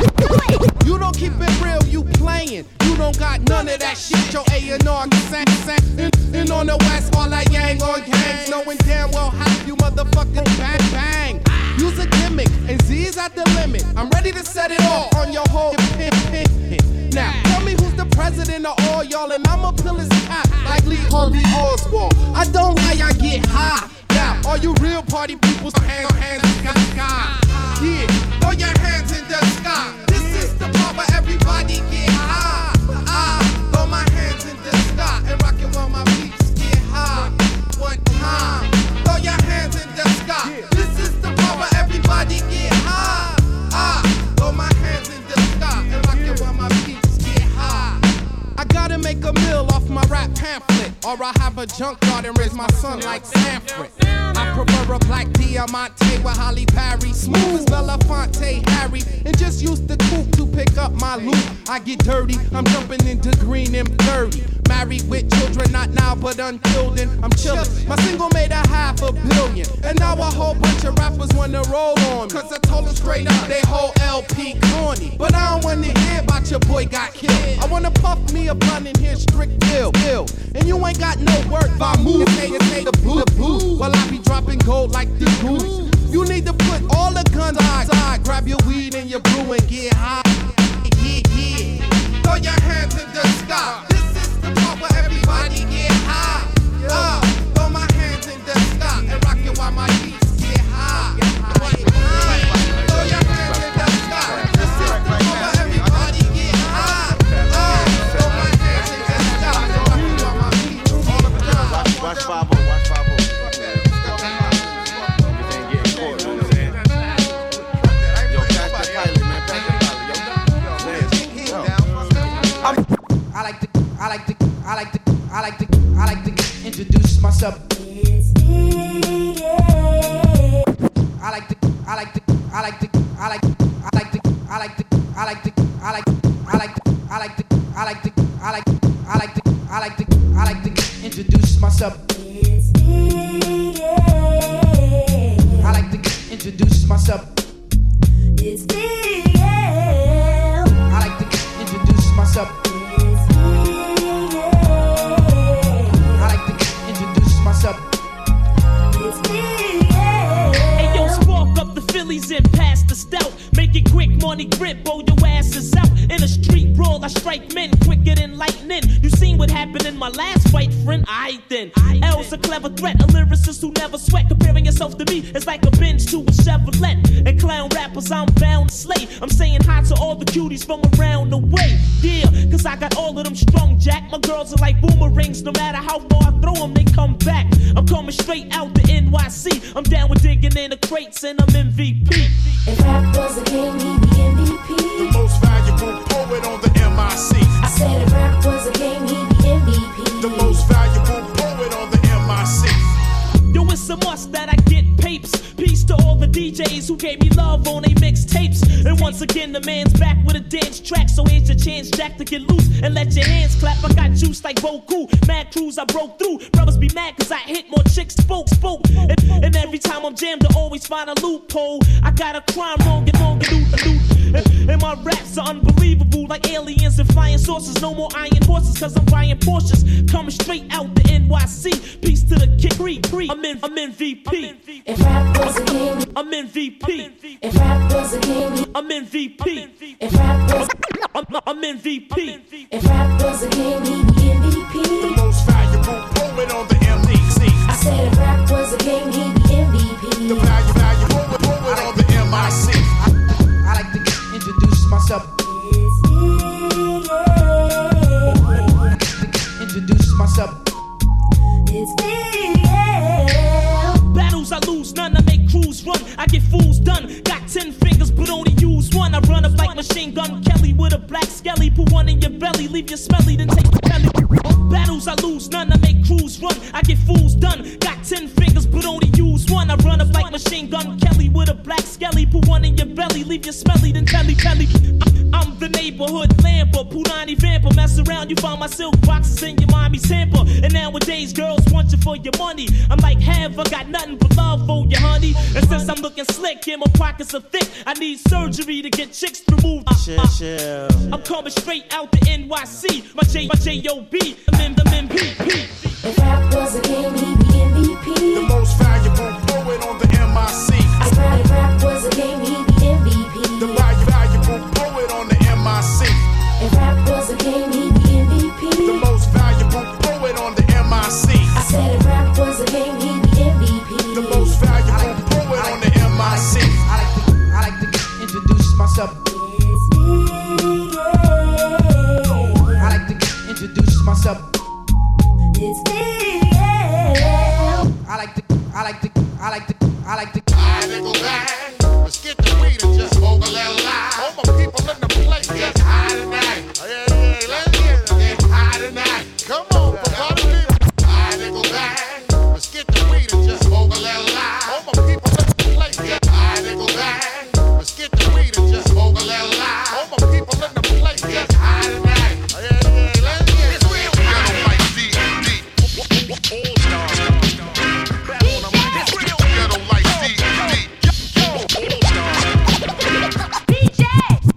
You don't keep it real, you playing. You don't got none of that shit your A and R saying. And, and on the west, all that yang on gangs, knowing damn well how you motherfucking bang bang. Use a gimmick, and Z's at the limit. I'm ready to set it all on your whole pin, pin, pin. Now, tell me who's the president of all y'all, and I'ma pull his cap like Lee Harvey Oswald. I don't lie, I get high. Now, all you real party people, hands, hands in the sky. Yeah, throw your hands in the sky. This is the part where everybody get high. Ah, throw my hands in the sky and rock it while my peeps get high. One time, throw your hands in the sky. This is the part where everybody get high. Ah, throw my hands in the sky and rock it while my peeps get high. I gotta make a meal off my rap pamphlet, or I have a junkyard and raise my son like Sanford. I prefer a black Diamante with Holly Perry, smooth as Belafonte Harry, and just use the coupe to pick up my loot. I get dirty, I'm jumping into green M thirty. Married with children, not now but until then, I'm chillin'. My single made a half a billion, and now a whole bunch of rappers wanna roll on me. Cause I told them straight up they whole L P corny. But I don't wanna hear about your boy got killed. I wanna puff me a blunt and hear strict bill, bill. And you ain't got no work, by move, take it, take the boo, boo. While I be dropping gold like the goose. You need to put all the guns outside, grab your weed and your brew and get high. Yeah, yeah. Throw your hands in the sky. This is the part where everybody get high. Uh, throw my hands in the sky and rock it while my beats get high. One time. Throw your hands in the sky. This is the part where everybody get high. Uh, throw my hands in the sky and rock it while my beats get high. Watch five oh, watch five oh. I like to, I like to, I like to, I like to, I like to introduce myself. I like to, I like to, I like to, I like to, I like to, I like to, I like to, I like, I like to, I like to, I like to, I like, I like to, I like to, I like to introduce myself. I like to introduce myself. It's me. I like to introduce myself. I like to introduce myself. It's me. Hey yo, spark up the Phillies and pass the stout. Make it quick, money grip, blow your asses out. In a street brawl, I strike men quicker than lightning. You seen what happened in my last fight, friend? I then. L's a clever threat, a lyricist who never sweat. Comparing yourself to me is like a Benz to a Chevrolet. And clown rappers, I'm bound to slay. I'm saying hi to all the cuties from around the way. Yeah, cause I got all of them strong, Jack. My girls are like boomerangs, no matter how far I throw them, they come back. I'm coming straight out the N Y C. I'm down with digging in the crates and I'm M V P. If rap was a game, he'd be M V P. The most valuable poet on the M I C. I said if rap was a game, he'd be M V P. The most valuable poet on the M I C. Yo, it's a must that I get papes. Peace to all the D Js who gave me love on they mixtapes. And once again, the man's back with a dance track. So here's your chance, Jack, to get loose and let your hands clap. I got juice like Goku. Mad crews I broke through. Brothers be mad cause I hit more chicks, spoke, spoke. And, and every time I'm jammed, I always find a loophole. I got a crime wrong and wrong and loot, loot. And, and my raps are unbelievable, like aliens and flying saucers. No more iron horses cause I'm buying Porsches. Coming straight out the N Y C. Peace to the kid, pre, pre. I'm in, I'm M V P. If rap was a game, I'm M V P. If rap was a game, I'm M V P. If rap was, I'm, I'm M V P. If rap was a game, he'd be M V P. The most valuable poet on the M D C. I said if rap was a game, he'd be M V P. The value, valuable poet on the M I C. I, I like to introduce myself. Introduce myself. It's me, yeah. Battles I lose, none I make crews run. I get fools done. Got ten fingers, but only use one. I run up like Machine Gun Kelly with a black skelly. Put one in your belly, leave you smelly, then take your belly. Battles I lose, none I make crews run. I get fools done. Got ten fingers, but only use one. I run up like Machine Gun Kelly with a black skelly. Put one in your belly, leave you smelly, then telly telly. I'm the neighborhood lamper, Punani vamper. Mess around, you find my silk boxes in your mommy's hamper. And nowadays, girls want you for your money. I'm like, have I got nothing but love for you, honey? And since I'm looking slick and my pockets are thick, I need surgery to get chicks removed. Uh, uh, chill, chill. I'm coming straight out the N Y C. My J, my J O B, I'm in the M P P. If rap was a game, he'd be M V P. The most valuable poet on the M I C. If rap, if rap was a game, he'd be M V P. The valuable poet on the M I C. If rap was a game, he'd be M V P. The most valuable poet on the M I C. I said if rap was a game, he'd be M V P. The most valuable poet on the M I C. I like to, I like to introduce myself. It's me, yeah. I like to introduce myself. It's me, yeah. I like to, I like to, I like to, I like to. I nickel back. Let's get the weed and just smoke a little lie. All my people in the place get high tonight. Yeah, yeah, let's get it. Get high tonight. Come on, for party people. I nickel back. Let's get the weed and just smoke a little lie. All my people in the place get high nickel back. Let's get the weed and just smoke a little lie. All my people in the place get high tonight. Yeah, yeah, let's get it. It's real. I don't like D D. All stars. It's real. I don't like D D. D J.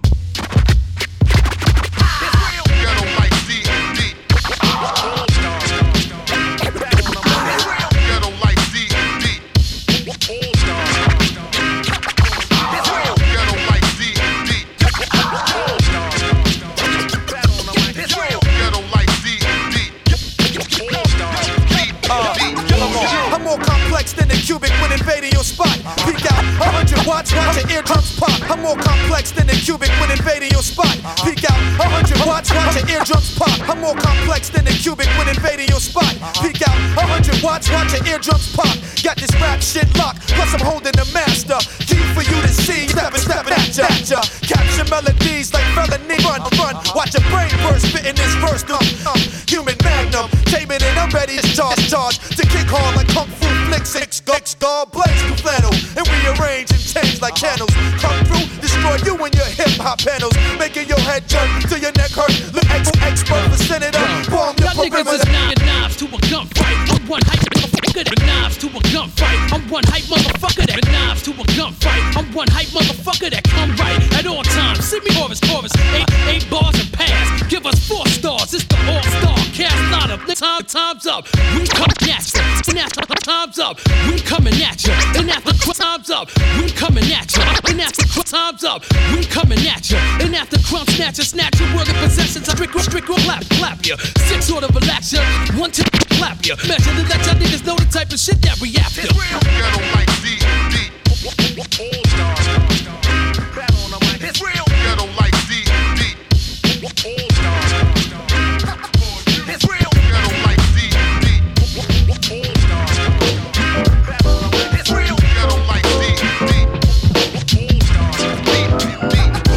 I'm more complex than the cubic when invading your spot. Peek out, a hundred watts, watch your eardrums pop. I'm more complex than the cubic when invading your spot. Peek out, a hundred watts, watch your eardrums pop. I'm more complex than the cubic when invading your spot. Peek out, a hundred watts, watch your eardrums pop. Got this rap shit locked, plus I'm holding the master. Key for you to see, stepping, stepping at ya. Capture melodies like felony, run, run. Watch your brain burst, spitting this verse. Um, um, human magnum, taming it, I'm ready to charge, charge. To kick hard like kung fu flicks, six guts, guard, blaze through flannel. And rearrange and change like channels. Come through, destroy you and your hip hop panels. Making your head jerk till your neck hurt. Look ex expert for senator. Bomb the perimeter. Knives to a gunfight. I'm one hype motherfucker that knives to a gunfight. I'm one hype motherfucker that knives to a gunfight. I'm one hype motherfucker that come right at all times. Send me chorus, chorus. Eight, eight bars and pass. Give us four stars. It's the all-star cast lineup. Time, time's up. We come at you. And after time's up, we coming at you. And after time's up, we coming at you. And after time's up, we coming at you. And after crumb snatch you, snatch your world of possessions. I strick, strick, clap, clap you. Six sort of relax you. One to clap you. Measure to let y'all niggas know the type of shit that we after. It's real. Ghetto like D D. All stars. It's real. Ghetto like D D. All stars. It's real. Ghetto like D D. All stars. It's real. Ghetto like D D. All stars. D D.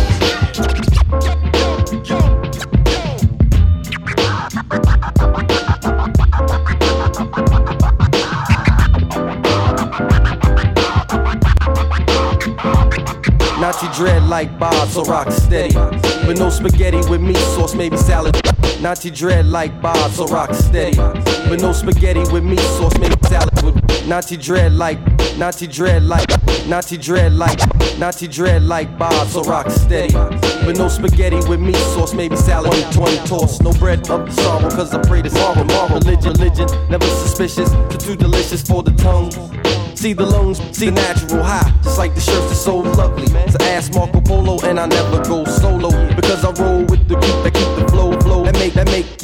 Yo, yo, Nazi dread like Bob, so rock steady. With no spaghetti with meat sauce, maybe salad. Nazi dread like Bob, so rock steady. With no spaghetti with meat sauce, maybe salad. With Nazi dread like, Nazi dread like, Nazi dread like, Nazi dread like Bob, so rock steady. With no spaghetti with meat sauce, maybe salad. twenty toss, no bread of sorrow, cause I pray to sorrow. Religion, religion, never suspicious, too, too delicious for the tongue. See the lungs, see the natural high, just like the shirts are so lovely. So ask Marco Polo and I never go solo, because I roll with the group that keep the flow, flow. That make, that make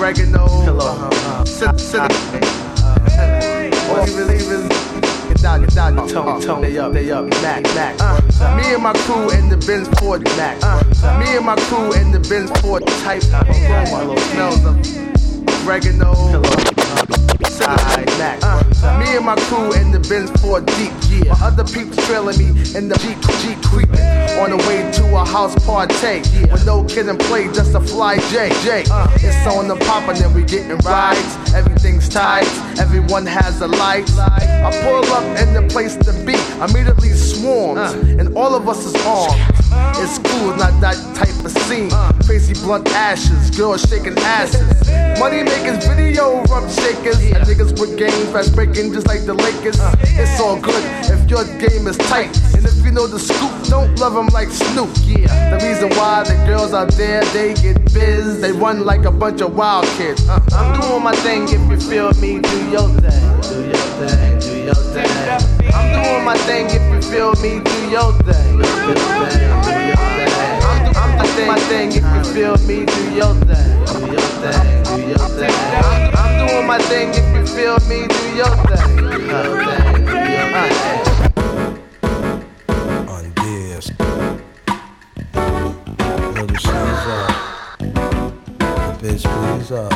oregano, uh, cinnamon. All you believers, get down, get down, tone, tone. They up, they up, Mac, Mac. Uh, me and my crew in the Benz Ford Mac. Uh, me and my crew in the Benz Ford type aroma. Smells of oregano, cinnamon, Mac. Uh, me and my crew in the Benz Ford Deep. Yeah. My other people trailing me in the Jeep, Jeep creeping on the way to a house party. Yeah. With no kid and play, just a fly J. J. Uh, it's on the pop and then we getting rides. Everything's tight, everyone has the lights. I pull up in the place to be, immediately swarms, and all of us is armed. It's cool, not that type of scene. Crazy blunt ashes, girls shaking asses. Money makers, video rump shakers, and niggas with game fast breaking just like the Lakers. It's all good if your game is tight, and if you know the scoop, don't love them like Snoop. Yeah, the reason why the girls out there, they get biz, they run like a bunch of wild kids. Uh, I'm doing my thing, if you feel me, do your thing. Do your thing, do your thing. I'm doing my thing, if you feel me, do your thing. Do your thing, do your thing. I'm, do, I'm doing my thing, if you feel me, do your thing. Do your thing, do your thing. I'm, I'm doing my thing, if you feel me, do your thing. Do your thing, do your thing. Little shoes up, the bitch please up,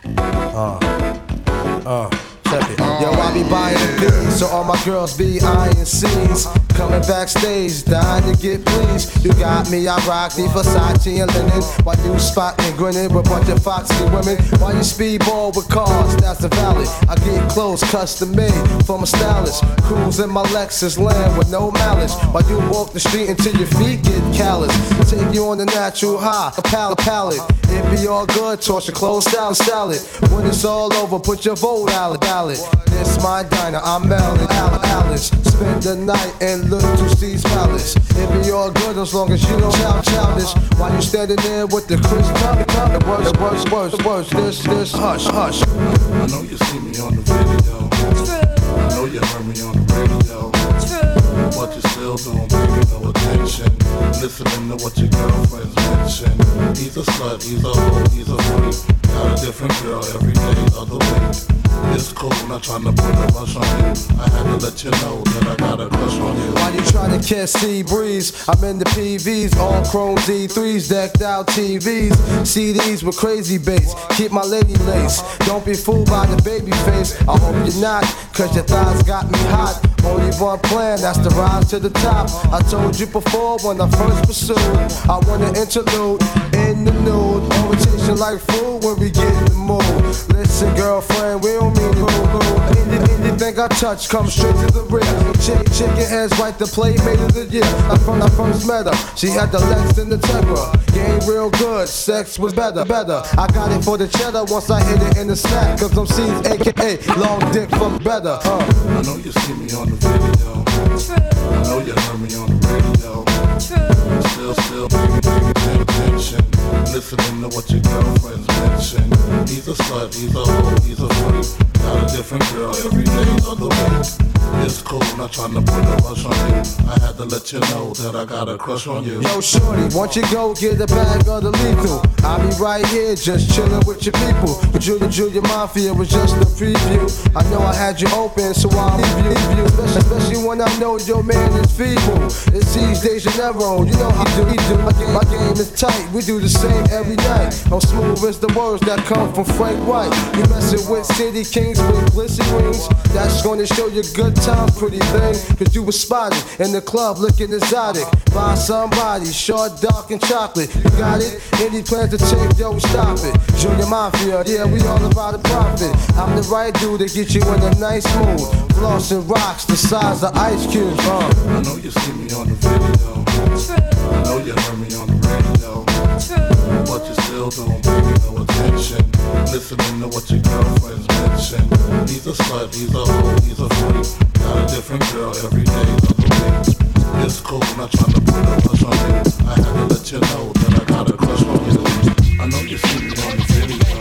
uh, uh, check it. Yo, I be buying the beats, so all my girls be eyeing scenes. Coming backstage, dying to get pleased. You got me, I rock the Versace and linen. While you spotting, grinning with a bunch of foxy women. While you speedball with cars, that's the valid. I get clothes custom made from a stylist. Cruise in my Lexus land with no malice. While you walk the street until your feet get callous. Take you on the natural high, a pallet, pallet. It be all good, toss your clothes salad, salad. When it's all over, put your vote out, ballot. This my diner, I'm Melon, Alice. Spend the night and look to Steve's palace. It be all good as long as you don't shout childish. While you standing there with the crisp tongue, tongue. The worst, the worst, worst, worst. This, this, hush, hush. I know you see me on the video. True. I know you heard me on the radio. True. But you still don't pay me no attention. Listening to what your girlfriends mention. He's a slut, he's a hoe, he's a freak. Got a different girl every day of the week. It's cool, not trying to put a rush on you. I had to let you know that I got a crush on you. While you trying to catch sea breeze, I'm in the P Vs, all chrome Z threes, decked out T Vs, C Ds with crazy bass. Keep my lady lace. Don't be fooled by the baby face. I hope you're not, cause your thighs got me hot. Only one plan, that's the rise to the top. I told you before when I first pursued. I want an interlude in the nude. Orientation like food when we get in the mood. Listen, girlfriend, we don't mean to boo-boo. Anything, anything I touch comes straight to the rear. Chick, chicken heads right the playmate of the year. I from I first met her, she had the legs and the temper. Game real good, sex was better, better. I got it for the cheddar once I hit it in the snack. Cause I'm C's A K A long dick from better. Uh. I know you see me on the video. True. I know you heard me on the radio. True. Still, still paying, paying, paying attention. Listening to what your girlfriends mention. He's a slut, he's a hoe, he's a freak. Got a different girl every day of the week. It's cool, not trying to put a rush on you. I had to let you know that I got a crush on you. Yo, shorty, won't you go get a bag of the lethal? I'll be right here just chilling with your people. But Julia Julia Mafia was just a preview. I know I had you open, so I'll leave you, leave you. Especially, especially when I know your man is feeble. It's these days you never own, you know how do we do. My game, my game is tight, we do the same every night. I'm smooth as the words that come from Frank White. You messing with City Kings with glisten rings. That's gonna show you good time, pretty thing. Cause you was spotted in the club looking exotic by somebody short, dark, and chocolate. You got it? Any plans to take, yo, stop it. Junior Mafia, yeah, we all about the profit. I'm the right dude to get you in a nice mood. Floss and rocks the size of ice cubes. Uh. I know you see me on the video. True. I know you heard me on the radio. True. But you still don't pay me no attention. Listening to what your girlfriends mention. He's a slut, he's a hoe, he's a freak. Got a different girl every day of the week. It's cool, not trying to put a rush on you. I had to let you know that I got a crush on you. I know you see me on the video.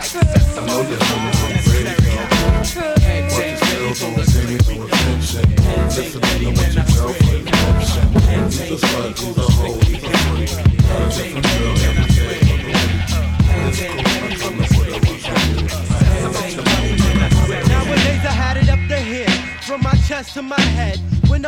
I know you heard me on the radio. But you still don't pay me no attention. Listening to what your girlfriend mention. He's a slut, he's a hoe, he's a freak. Got a different girl every day of the week. It's cool, not trying to put a rush on you.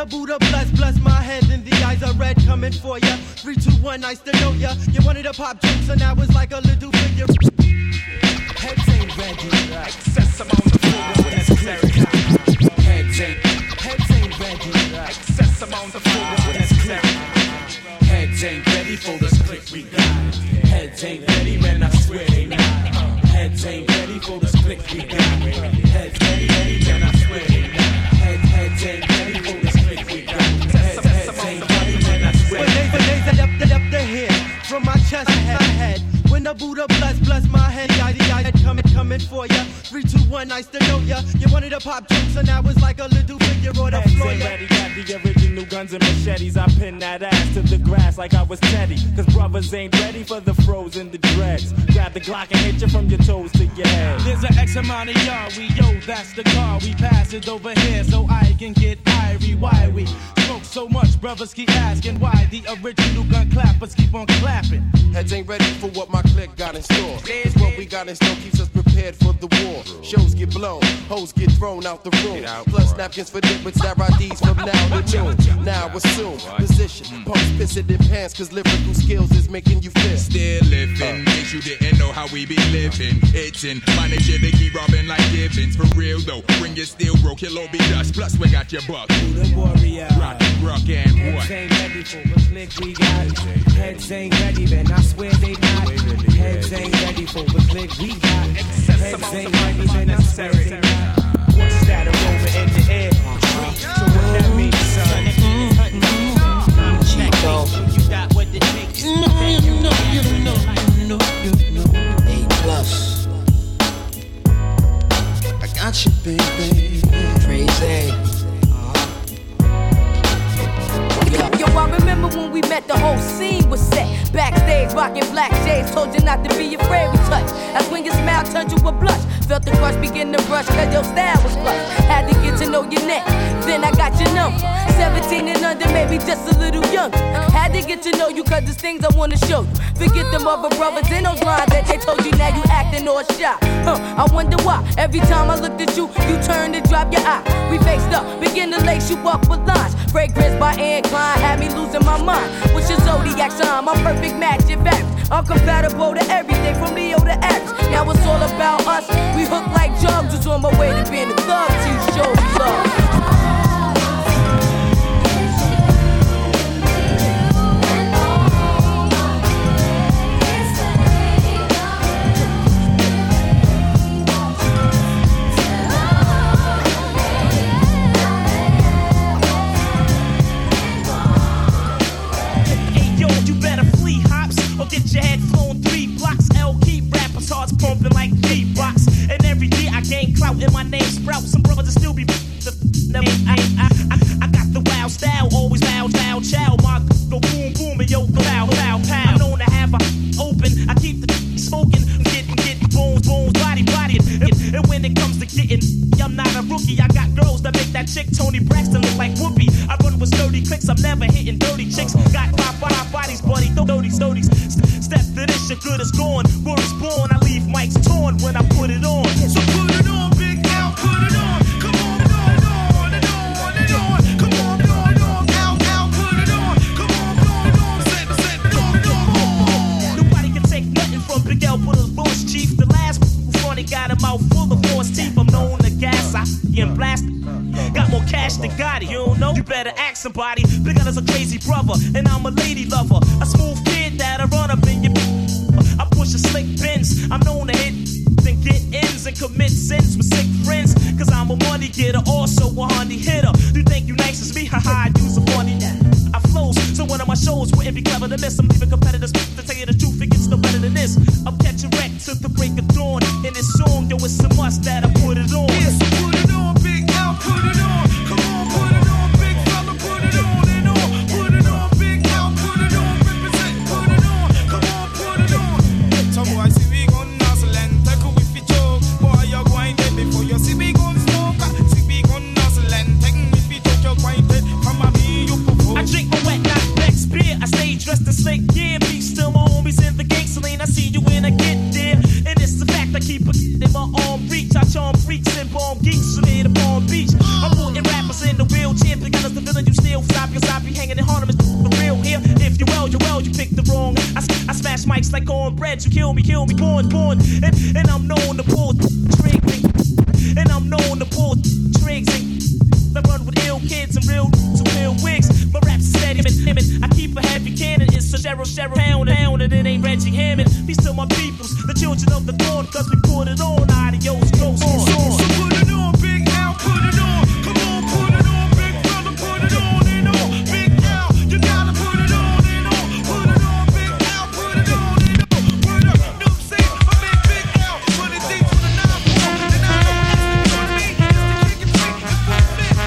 the Buddha bless, bless my head and the eyes are red coming for ya. Three, two, one, nice to know ya. You wanted to pop jokes and I was like a little figure. Heads ain't ready. Excess amount of food when necessary. Heads ain't, heads ain't ready. Excess amount of food when necessary. Heads ain't ready for this click we got. Heads ain't ready, man, I swear they not. Heads ain't ready for this click we got. Heads ain't ready, man, I swear they not. Heads, heads ain't ready for this click we got. Heads, heads ain't ready, man, I swear they not. When they say up the up the hair from my chest to my head. When the Buddha bless, bless my head, I the I coming, coming for ya. Three, two, one, nice to know ya. You wanted to pop jokes and I was like a little figure on the floor. Heads ain't ready, got the original guns and machetes. I pin that ass to the grass like I was Teddy. Cause brothers ain't ready for the froze and the dreads. Grab the Glock and hit you from your toes to your head. There's an X amount of y'all, we yo, that's the car. We pass it over here so I can get irie. Why we smoke so much, brothers keep asking why the original gun clappers keep on clapping. Heads ain't ready for what my clique got in store. Cause what we got in store keeps us prepared for the war. Shows get blown, hoes get thrown out the room. Plus napkins for dip with Sarah D's from now to noon. Now assume position, post pissing in pants cause lyrical skills is making you feel. Still living, in case you didn't know how we be living. Itching, manage it, they keep robbing like Gibbons. For real though, bring your steel bro, kill all be dust. Plus we got your buck. The warrior. Rock, rock and what? Heads ain't ready for the click we got. Heads ain't ready, man, I swear they not. Heads ain't ready for the click we got. Heads ain't ready, man, I swear they not. What's that aroma in the air? So what that means, son? Chico. You got what it takes. No, you know, you know, you know, you know. A plus. I got you, baby. Crazy. Yo, I remember when we met, the whole scene was set. Backstage, rocking black shades, told you not to be afraid we touch. That's when your smile turned to a blush. Felt the crush begin to brush, cause your style was plush. Had to get to know your neck, then I got your number. seventeen and under, maybe just a little younger. Had to get to know you, cause there's things I wanna show you. Forget them other brothers in those lines that they told you, now you acting all shy. Huh, I wonder why, every time I looked at you, you turned and dropped your eye. We faced up, begin to lace you up with lines. Fragrance by Anne Klein had me losing my mind. What's your zodiac sign? My perfect match, in fact. I'm compatible to everything from Leo to Aries. Now it's all about us. We hook like jugs. Was on my way to being a thug. To show you love. Get your head flown three blocks. L keep rappers hearts pumping like beatbox. And every day I gain clout and my name sprout. Some brothers will still be the never. I, I, I, I got the wild style, always loud, loud, chow. My go boom boom and yo go loud, loud, pow. I'm known to have a open. I keep the smoking, getting getting bones, bones, body, body. And, and when it comes to getting, I'm not a rookie. I got girls that make that chick Tony Braxton look like Whoopi. I run with sturdy clicks. I'm never hitting dirty chicks. Got five, five bodies, buddy, thirty, thirty. Step to this, your good is gone. Word is born, I leave mics torn when I put it on. So put it on, Big L, put it on. Come on, put it on, it on, it on. Come on, put it on, L, L, put it on. Come on, put it on, set, set, put it on. Nobody can take nothing from Big L, put his voice chief. The last funny got him out full of force teeth. I'm known to gas, I get blasted. Got more cash than Gotti, you don't know? You better ask somebody. Big L is a crazy brother, and I'm a lady lover. A smooth kid that'll run up in your. I push a slick Benz. I'm known to hit and get ends and commit sins with sick friends. Cause I'm a money getter, also a honey hitter. You think you nice as me? Haha, I use a funny. I flows, so one of my shows wouldn't be clever to miss. I'm leaving competitors to tell you the truth, it gets no better than this. I'm catching wreck to the break of dawn. In this song, yo, it's a must that I put it on. Yes, put it on, Big L, put it on. Come on, put it on, big fella, put it on and on. Put it on, Big L, put it on, represent, put it on. Come on, put it on. Some boy see we gon' nuzzle and take a whiffy choke. Boy, you're going dead before you see we gon' smoke. See we gon' nuzzle and take a whiffy choke. You're going dead. Come on, me, you propose. I drink my wet, not next beer. I stay dressed to slick gear. Be still my homies in the gang saline. I see you when I get there. And it's the fact I keep a in my arm reach. I charm freaks and bomb geeks from here to Palm Beach. I'm putting rappers in the real champion. Cause the villain you cornbread. You kill me, kill me, born, born. And, and I'm known to pull tricks. And I'm known to pull tricks. I run with ill kids and real to real wigs. My rap's steady, and I keep a heavy cannon. It's a Cheryl, Cheryl, pound and pound, and it ain't Reggie Hammond. Peace to my peoples, the children of the dawn, cause we put it on. Adios, ghost on. So put it on, Big Al, put it on. Come on, put it on, big brother, put it on and on. Big Al, you gotta put it on and on. Put it on, Big Al, put it on and on. Word up, no say, I mean Big Al, put it deep to the nine four. And I know that's what me, it's the kick and trick, it's what it is.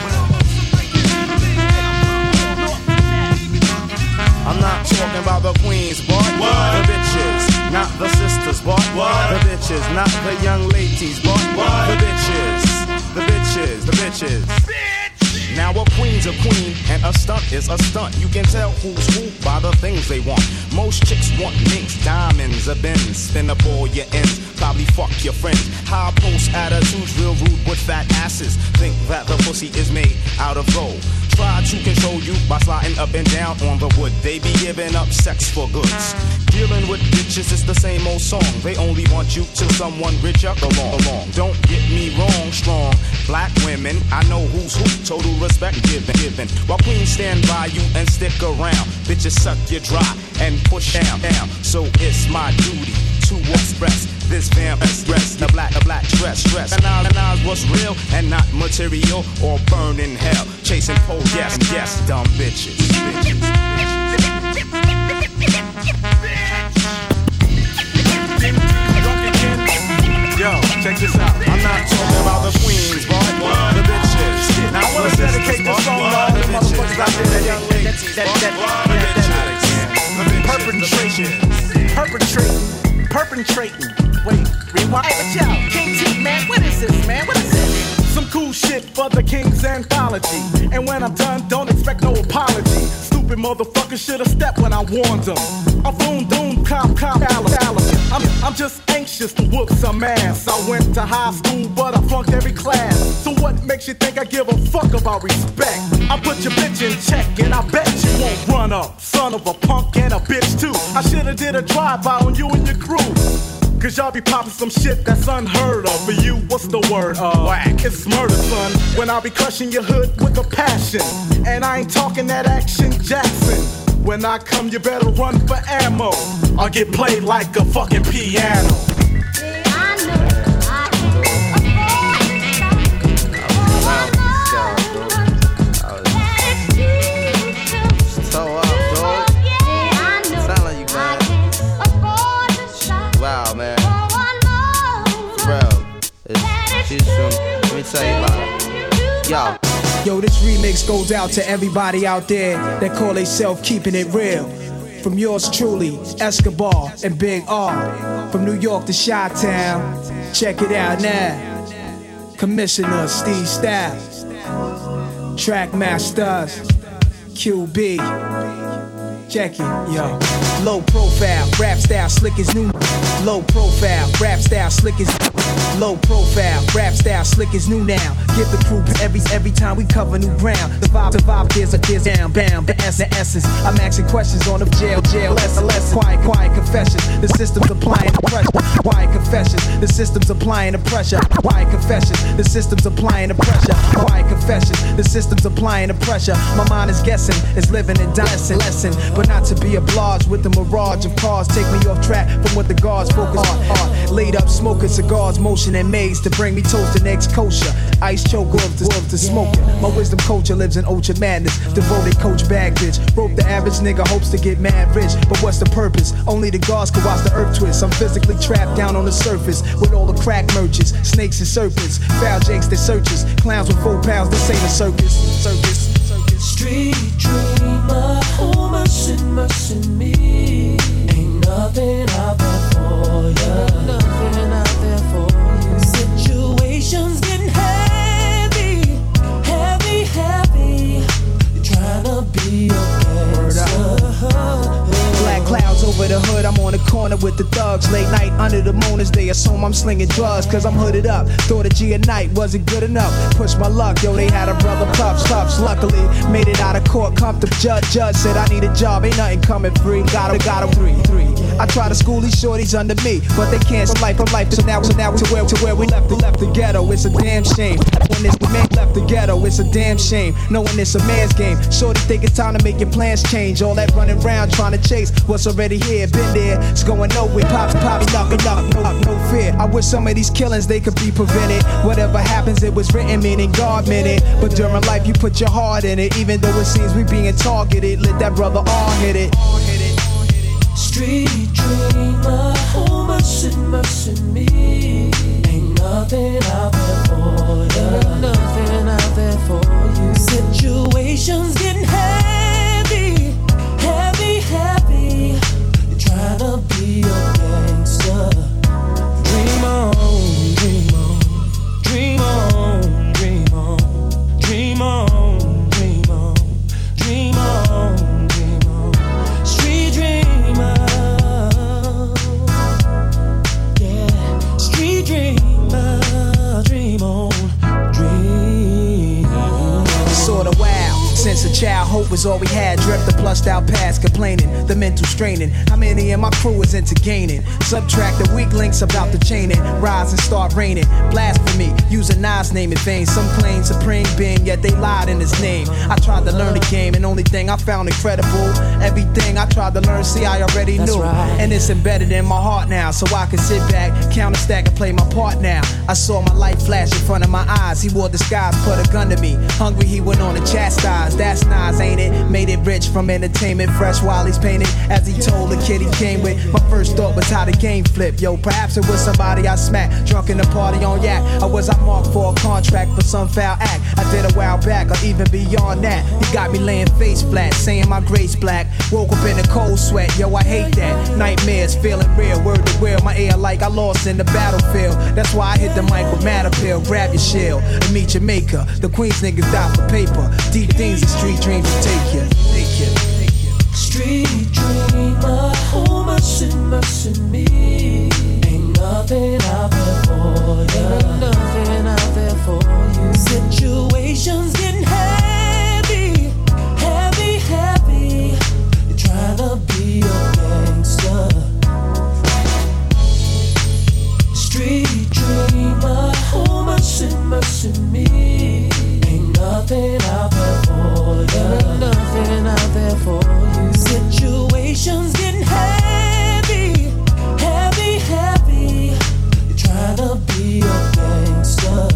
I'm not talking about the queens, boy. What? The bitches, not the sisters, boy. What? The bitches, not the young ladies, boy. What? The bitches, the bitches, the bitches. Bitch. Now a queen's a queen and a stunt is a stunt. You can tell who's who by the things they want. Most chicks want minks, diamonds, a Benz. Spin up all your ends, probably fuck your friends. High post attitudes, real rude with fat asses. Think that the pussy is made out of gold. Try to control you by sliding up and down on the wood. They be giving up sex for goods. Dealing with bitches is the same old song. They only want you till someone richer along. along. Don't get me wrong, strong black women, I know who's who. Total respect given, given. While queens stand by you and stick around, bitches suck you dry and push down, down. So it's my duty to express this vamp express the black, the black dress, dress. And I, and I what's real and not material or burn in hell. Chasing pole, yes, yes, dumb bitches. bitches, Yo, check this out. I'm not talking about the queens, boy. The bitches. Now I wanna dedicate this song to all the motherfuckers out there, that young ladies. That, that, that, perpetration, perpetrating, perpetrating. Wait, rewind. Hey, but yo, King T, man, what is this, man? What is this? Some cool shit for the King's anthology. And when I'm done, don't expect no apology. Stupid motherfuckers should've stepped when I warned them. I'm boom, doom, cop, cop, I'm, I'm just anxious to whoop some ass. I went to high school, but I flunked every class. So what makes you think I give a fuck about respect? I put your bitch in check, and I bet you won't run up. Son of a punk and a bitch too. I should've did a drive-by on you and your crew. Cause y'all be popping some shit that's unheard of. For you, what's the word? Uh, Whack. It's murder, son. When I be crushing your hood with a passion. And I ain't talking that Action Jackson. When I come, you better run for ammo. I'll get played like a fucking piano. So up, dog. Sound like you, man. Wow, man. Bro, it's, she's from, let me tell you about it. Yo. Yo, this remix goes out to everybody out there that call themselves keeping it real. From yours truly, Escobar and Big R. From New York to Chi-Town, check it out now. Commissioner Steve Styles, Trackmasters, Q B. Check it, yo. Low profile, rap style, slick as new. Low profile, rap style, slick as. Low profile, rap style, slick as new now. Give the crew every every time we cover new ground. The vibe, the vibe, there's a there's down, bam, the S, the essence. I'm asking questions on the jail, jail, S L S. Quiet, quiet confessions. The system's applying the pressure. Quiet confessions. The system's applying the pressure. Quiet confessions. The system's applying the pressure. Quiet confessions. The system's applying the pressure. My mind is guessing, is living and dying, lesson, but not to be obliged with the mirage of cars. Take me off track from what the guards focus on. Laid up smoking cigars, motion and maze to bring me toast and eggs kosher. Ice choke off to, to smoking. My wisdom culture lives in ultra madness. Devoted coach bag bitch. Broke the average nigga hopes to get mad rich. But what's the purpose? Only the gods can watch the earth twist. I'm physically trapped down on the surface with all the crack merchants, snakes and serpents, foul jakes that searches, clowns with four pounds. This ain't a circus. Circus. Street dreamer, oh mercy, mercy me. Ain't nothing out there for ya. Nothing out there for you. Situations getting heavy, heavy, heavy. You're trying to be a gangster. Black clouds over the hood, I'm on the corner with the thugs. thugs. Late night under the moon as they assume I'm slinging drugs. Cause I'm hooded up. Thought a G at night wasn't good enough. Push my luck, yo, they had a brother puffs, puffs. Luckily, made it out of court comfortable. Judge, judge said I need a job, ain't nothing coming free. Got him, got him, three, three. I try to school these shorties under me, but they can't. From life, from life to now, to now, to where, to where we left, the left the ghetto. It's a damn shame. When it's the man left the ghetto, it's a damn shame. Knowing it's a man's game. Shorty think it's time to make your plans change. All that running around trying to chase what's already here, been there. It's going nowhere. Pops, pops, knocking up, no, no fear. I wish some of these killings they could be prevented. Whatever happens, it was written, meaning God meant it. But during life, you put your heart in it, even though it seems we being targeted. Let that brother all hit it. Street dreamer, oh mercy, mercy me. Ain't nothing out there for you. Ain't nothing out there for you. Situations getting heavy, heavy, heavy. You're trying to be a gangster. Dream on, dream on, dream on, dream on, dream on, dream on, dream on, dream on. Street dreamer, yeah. Street dreamer, dream on, dream. Sorta wild. Since a child, hope was all we had. Dreamt the plussed out past, complaining, the mental straining. How many in my crew is into gaining? Subtract the weak links about the chaining. Rise and start raining. Blasphemy, using Nas name in vain. Some claim supreme being, yet they lied in his name. I tried to learn the game, and only thing I found incredible. Everything I tried to learn, see, I already That's knew. right. And it's embedded in my heart now, so I can sit back, count a stack, and play my part now. I saw my life flash in front of my eyes. He wore disguise, put a gun to me. Hungry, he went on to chastise. That's Nas, ain't it? Made it rich from entertainment, fresh while he's painted. As he told the kid he came with, my first thought was how the game flipped. Yo, perhaps it was somebody I smacked, drunk in the party on yak. Or was I marked for a contract for some foul act I did a while back, or even beyond that? He got me laying face flat, saying my grace black. Woke up in a cold sweat, yo, I hate that. Nightmares, feeling real, word to real. My air like I lost in the battlefield. That's why I hit the mic with mad appeal. Grab your shield and meet your maker. The Queens niggas die for paper. Deep things and street dreams will take you, take you, take you. Street dreamer, oh mercy, mercy me. Ain't nothing out there for you. Ain't nothing out there for you. Situations getting heavy, heavy, heavy. You're trying to be a gangster. Street dreamer, oh mercy, mercy me. Ain't nothing out there for you. Ain't nothing out there for you. Situations getting heavy, heavy, heavy. You're trying to be a gangster.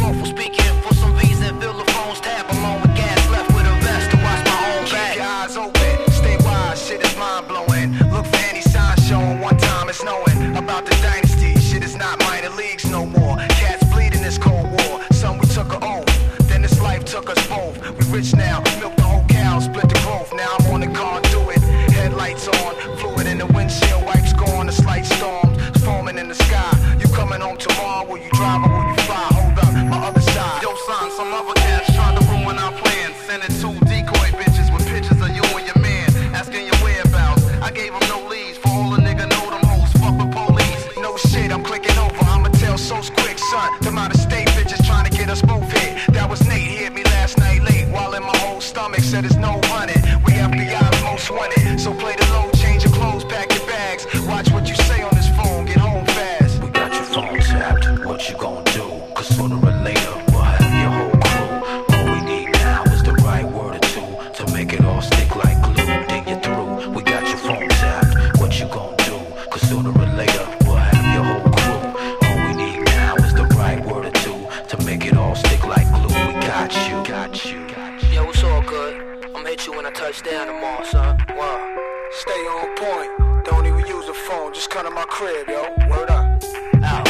Eyes open. son. Wow. Stay on point. Don't even use a phone. Just come to my crib, yo. Word up. Out.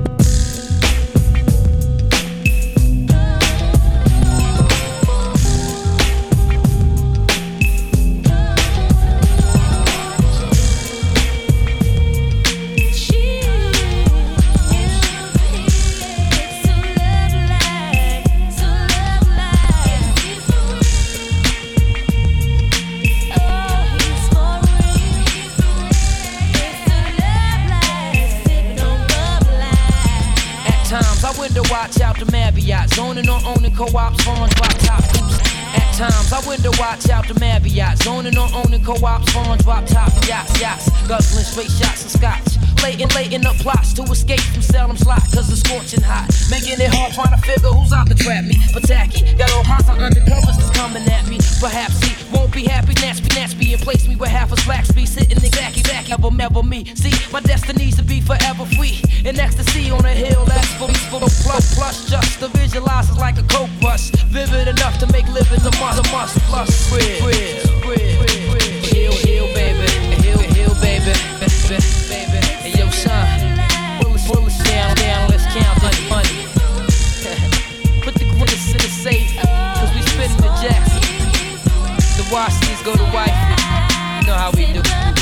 Watch out the Marriott, zoning on owning co-ops, phones, drop top coops. At times, I window watch out the Marriott, zoning on owning co-ops, phones, drop top yachts, yachts, guzzling straight shots of scotch. Laying, laying up plots to escape from Salem slot, cause it's scorching hot. Making it hard trying to figure who's out to trap me. But tacky, got all kinds of undercovers that's coming at me. Perhaps he won't be happy, snatch me, snatch me, and place me where half a slacks be sitting exactly, exactly, ever, never me. See, my destiny's to be forever free. In ecstasy on a hill, that's for me, for the plus, plus, just to visualize it's like a coke rush. Vivid enough to make living a must, a must, plus, real, real, real, real. Hill, hill, baby, hill, hill, baby, baby, baby. Hey, yo, son, pull us, pull us down, down, let's count that money. Put the grinners in the safe, cause we spitting the jacks. The Washingtons go to wifey, you know how we do.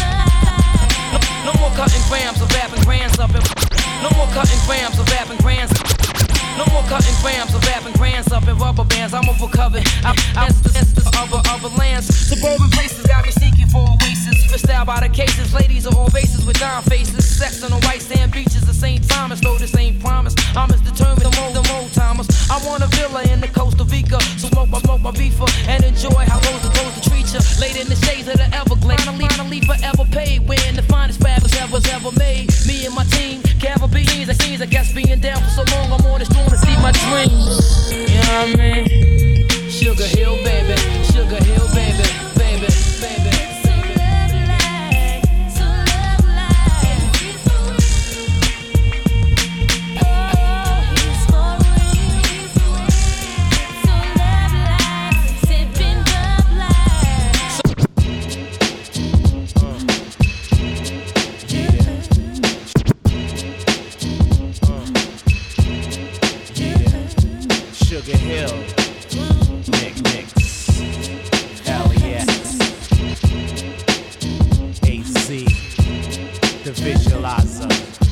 No, no more cutting grams of rapping grands up and no more cutting grams of rapping grands. No more cutting grams of rapping grands up in rubber bands. I'm overcovered. I'm out the other other lands. Suburban places got me seeking for oasis. Fished out by the cases. Ladies are all bases with dime faces. Sex on the white sand beaches. The same time as though this ain't promise. I'm as determined to mold the old timers. I want a villa in the Costa Rica. So smoke my smoke my beefer and enjoy how those are supposed to treat ya. Laid in the shades of the Everglades. Finally, finally forever paid. Wearing the finest fabrics ever ever made. Me and my team, Caribbeans. It seems I guess being down for so long. I'm on this storm to see my dreams. You know what I mean? Sugar Hill, baby. Sugar Hill, baby. Baby, baby. Sugar Hill, Nick Nicks, L E S, A Z, the Visualizer.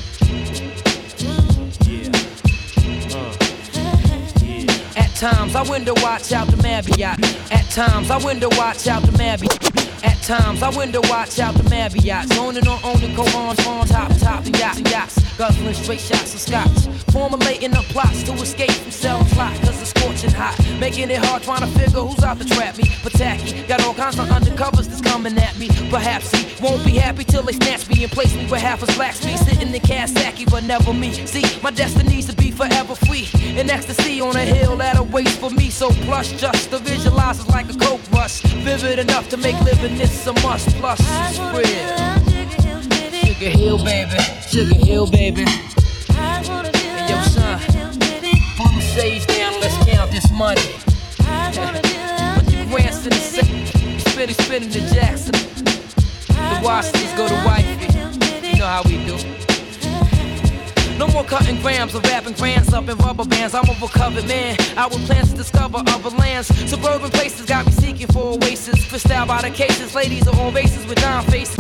Yeah, uh, yeah. At times I window watch out the Marriott. At times I window watch out the Marriott. At times I window watch out the Marriott. Zoning on owning co-ons on top, top, and yachts, and yachts. Guzzling straight shots of scotch. Formulating up plots to escape from selling plot, cause it's scorching hot. Making it hard trying to figure who's out to trap me. But tacky, got all kinds of undercovers that's coming at me. Perhaps he won't be happy till they snatch me and place me where half a black me. Sitting in Kawasaki, but never me. See, my destiny's to be forever free. In ecstasy on a hill that'll wait for me. So plush, just to visualize it's like a coke rush. Vivid enough to make living this a must. Plus, it's real. Sugar Hill, baby. Sugar Hill, baby. Hey, yo, son, pull the shades down, let's count this money. Put the grants in the safe, spinning, spinning the Jackson. The Washingtons go to wifey, you know how we do. No more cutting grams of rapping grands up in rubber bands. I'm a recovered man. I with plans to discover other lands. Suburban places got me seeking for oasis. Fished out by the cases. Ladies are all races with dime faces.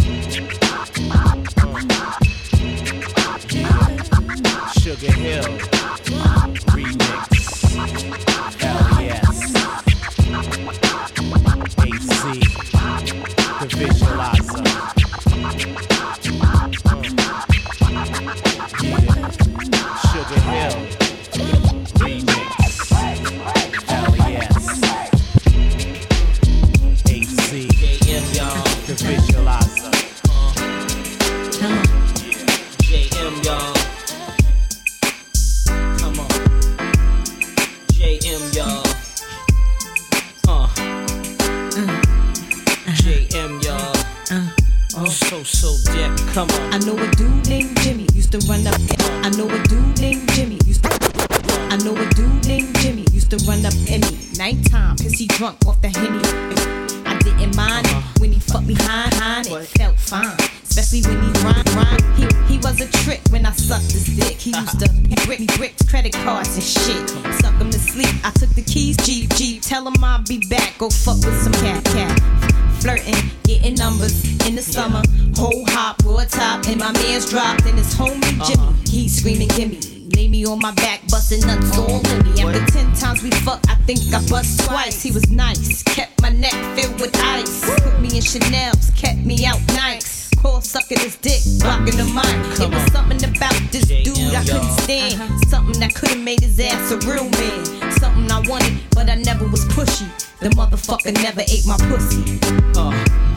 Sugar Hill, remix, L E S, A Z, the Visualizer. Sugar Hill, remix, L E S, A Z, the Visualizer. J M, y'all. Come on. J M, y'all. Uh. J M, y'all. Uh. Oh, so, so dead. Come on. I know a dude named Jimmy used to run up. I know a dude named Jimmy used to. I know a dude named Jimmy used to run up any nighttime, pissy drunk off the Henny. I didn't mind it. When he fucked behind, behind it felt fine. Especially when he rhyme, rhyme. He, he was a trick when I sucked his dick. He used to brick me bricks, credit cards and shit. Suck him to sleep. I took the keys, Jeep, Jeep. Tell him I'll be back. Go fuck with some cat, cat. Flirting, getting numbers in the summer. Whole hop, raw top, and my man's dropped. And his homie Jimmy, he's screaming, gimme. Lay me on my back, busting nuts all in me. After ten times we fucked, I think I bust twice. He was nice, kept my neck filled with ice. Put me in Chanel's, kept me out nice. Call sucking his dick, blocking the mic. It was something about this dude I couldn't stand. Something that could've made his ass a real man. Something I wanted, but I never was pushy. The motherfucker never ate my pussy. Uh.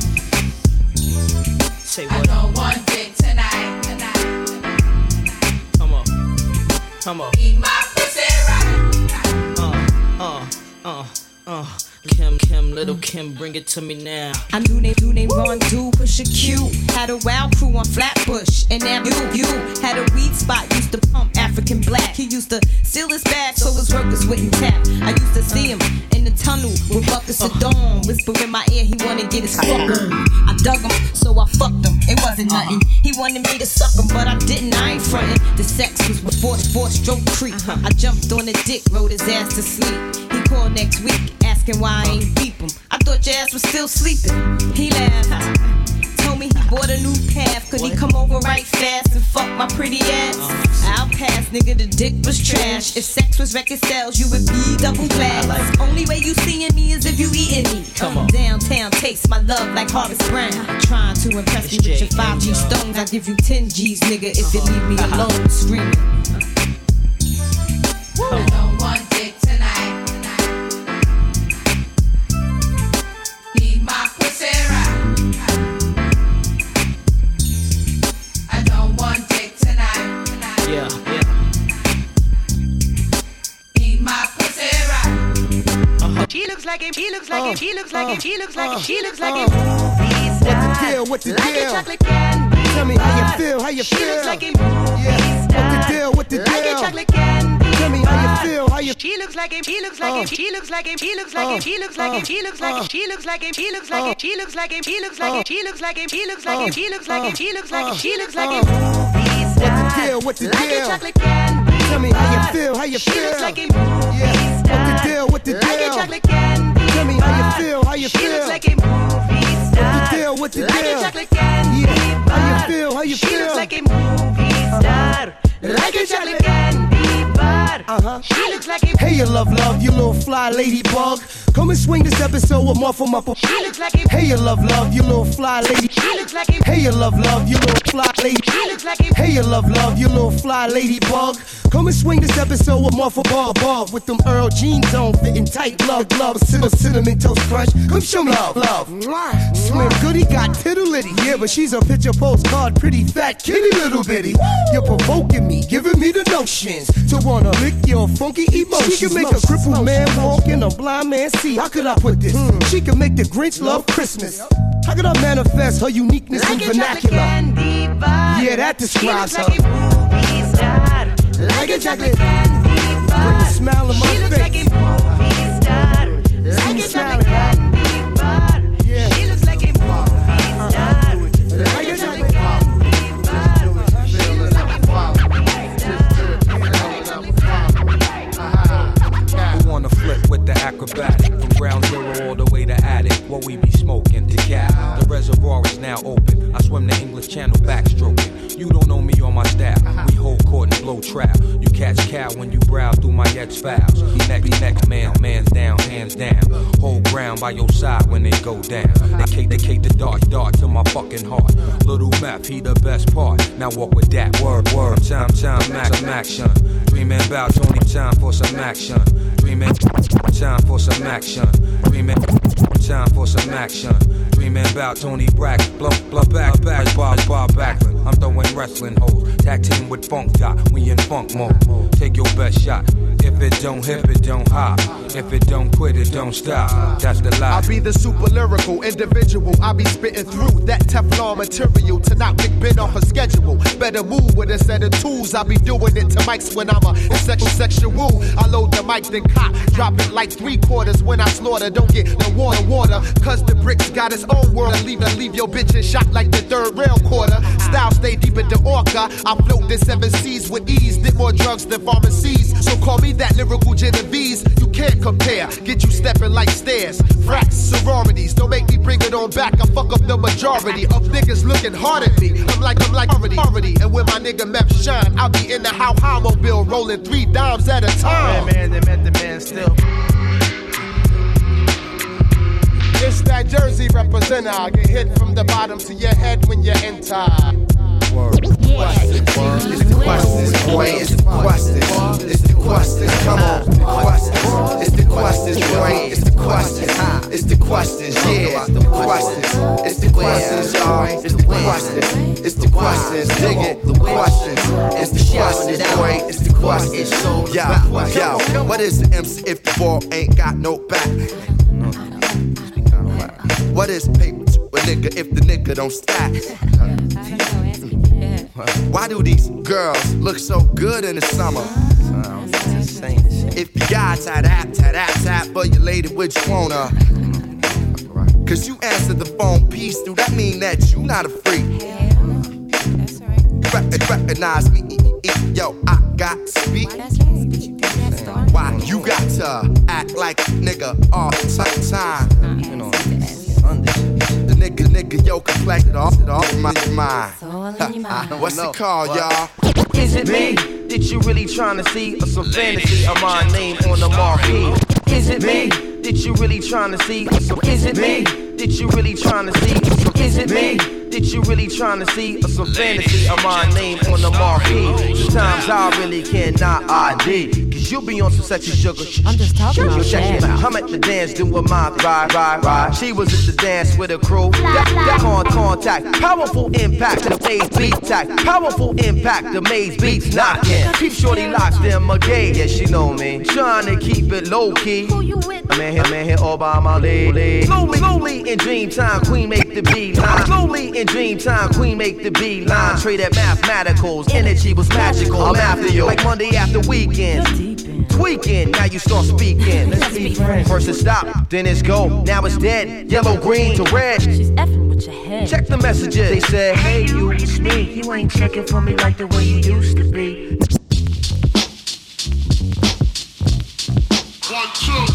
Say what? I don't want dick tonight, tonight. Come on, come on. Eat my pussy right. Uh, uh, uh, uh. Kim, Kim, little Kim, bring it to me now. I knew they do they run, do push a Q. Had a wild crew on Flatbush, and now you, you had a weed spot. Used to pump African black. He used to steal his bag so his workers wouldn't tap. I used to see him in the tunnel with buckets of dawn, whisper in my ear he wanna get his fuck on. I dug him, so I fucked him. It wasn't nothing. He wanted me to suck him, but I didn't. I ain't frontin'. The sex was before four stroke creep. I jumped on the dick, rode his ass to sleep. He called next week, asking why I ain't beep him. I thought your ass was still sleeping. He laughed, told me he bought a new path. Could he come over right fast and fuck my pretty ass? I'll pass, nigga, the dick was trash. If sex was record sales, you would be double glass. Only way you seeing me is if you eating me. Come on. Downtown taste my love like Harvest Brown. Trying to impress me with your five G stones. I give you ten G's, nigga, if you leave me alone screaming. I don't want dick tonight. My pussy right. I don't want dick tonight, tonight. Yeah, yeah. Eat my pussy right. Uh-huh. She looks like him, she looks like him, she looks like him, she looks like him, she looks like him. What the deal, what the like deal? A chocolate candy. Tell me how you feel, how you she feel? She looks like him. Yeah. What the deal, what the deal? Like a chocolate candy. Tell me how you feel, how you She looks like him, she looks like him, she looks like him, she looks like him, she looks like him, she looks like him, she looks like him, she looks like him, she looks like him, she looks like him, she looks like him, she looks like him, she looks like him, she looks like him, she looks like him. What the deal, what the like deal? A chocolate candy. Tell me how you feel, how you feel? She looks like him. Yeah. What the deal, what the deal? Like a chocolate candy. Tell me how you feel, how you feel? She looks like a movie star. What the deal, what the like deal? Like a chocolate candy. Yeah. How you feel, how you she feel? She looks like a movie star. Like a chocolate candy bar. Uh-huh. She looks like a Hey, you love, love, you little fly ladybug. Come and swing this episode with Muffle Muffle. She looks like a Hey, you love, love, you little fly lady. She looks like a Hey, you love, love, you little fly lady. She looks like a Hey, you love, love, you little fly ladybug. Come and swing this episode with Muffle Bar Bar. With them Earl jeans on, fitting tight, love, love, cinnamon, cinnamon toast crunch. Come show me love, love. Slim Goody got tittle-litty. Yeah, but she's a picture postcard, pretty fat kitty little bitty. You're provoking me, giving me the notions to wanna lick your funky emotions. She can make a crippled man walk and a blind man see. How could I put this? Hmm. She can make the Grinch love Christmas. How could I manifest her uniqueness like in vernacular? Yeah, that describes she her. looks like a movie star. Like a chocolate candy bar. Bring a smile on my she face. Looks like a movie star. Like a chocolate candy bar. Yeah. She looks like a movie star. Like a chocolate candy bar. She looks like a movie star. Who wanna flip with the acrobatic from ground zero all the way to attic? What we be smoking to cap. The reservoir is now open. I swim the English Channel backstroking. You don't know me or my style. We hold court and blow trap. You catch cow when you browse through my X files. Next, next man, man's down, hands down. Hold ground by your side when they go down. They cake, they cake the dart, dart to my fucking heart. Little meth, he the best part. Now walk with that word, word. Time, time, max, some action. Dreaming about Tony, time for some action. Dreaming, time for some action. Dreaming, time for some action. Dreaming about Tony Brack, blow, blow back, back, Bob, Bob Backlund. I'm throwing wrestling hoes. Tag team with Funk Dot, we in funk mode. Take your best shot. If If it don't hip, it don't hop. If it don't quit, it don't stop. That's the lie. I be the super lyrical individual. I be spitting through that Teflon material to knock Big Ben off a schedule. Better move with a set of tools. I be doing it to mics when I'm a sexual sexual. I load the mic, then cop. Drop it like three quarters when I slaughter. Don't get no water, water. Cause the bricks got its own world. I leave, I leave your bitch in shot like the third rail quarter. Style stay deep in the orca. I float the seven seas with ease. Did more drugs than pharmacies. So call me that lyrical Genovese. You can't compare. Get you stepping like stairs. Frats, sororities. Don't make me bring it on back. I fuck up the majority of niggas looking hard at me. I'm like, I'm like already, already. And when my nigga Meth shine, I'll be in the how how mobile rolling three dimes at a time. Man, man, they met the man still. It's that Jersey representer. I get hit from the bottom to your head when you enter. Word. Yeah. It's the questions, boy. It's the questions. It's the questions. Come on. Questions. It's the questions, boy. It's the questions. It's the questions. Yeah. It's the questions. It's the questions, y'all. It's the questions. It's the questions. Dig it. The questions. It's the questions, boy. It's the questions. Yo, yo. What is the M C if the ball ain't got no back? What is paper to a nigga if the nigga don't stack? Why do these girls look so good in the summer? If you got tap tap tap tap for your lady, which you wanna? Cause you answered the phone piece, do that mean that you not a freak? Re- recognize me, yo, I got to speak. Why you got to act like a nigga all the time? You know, the nigga, nigga, yo, complected off it off my mind. What's it called, y'all? Is it me that you really trying to see, or some fantasy of my name on the marquee? Is it me that you really trying to see, or some? Is it me that you really trying to see, or some? Is it me that you really trying to see, or some fantasy of my name on the marquee? Sometimes I really cannot I D. You be on some sexy sugar. I'm just talking about check that. I'm at the dance doing my ride, ride, ride. She was at the dance with a crew. That con contact, powerful impact to the maze beat tack. Powerful impact, the maze beats knocking. Keep shorty locked in my gate. Yeah, she know me. Trying to keep it low key. I'm in here, I'm in here all by my lady. Slowly, slowly in dream time, queen make the beat line. Slowly in dream time, queen make the beat line. Trade at mathematicals, energy was magical. I'm after you like Monday after weekend. Tweaking, now you start speaking. Let's be friends. First it stop, then it's go. Now it's dead. Yellow, green to red. She's effing with your head. Check the messages. They said, hey you, it's me. You ain't checking for me like the way you used to be. One, two.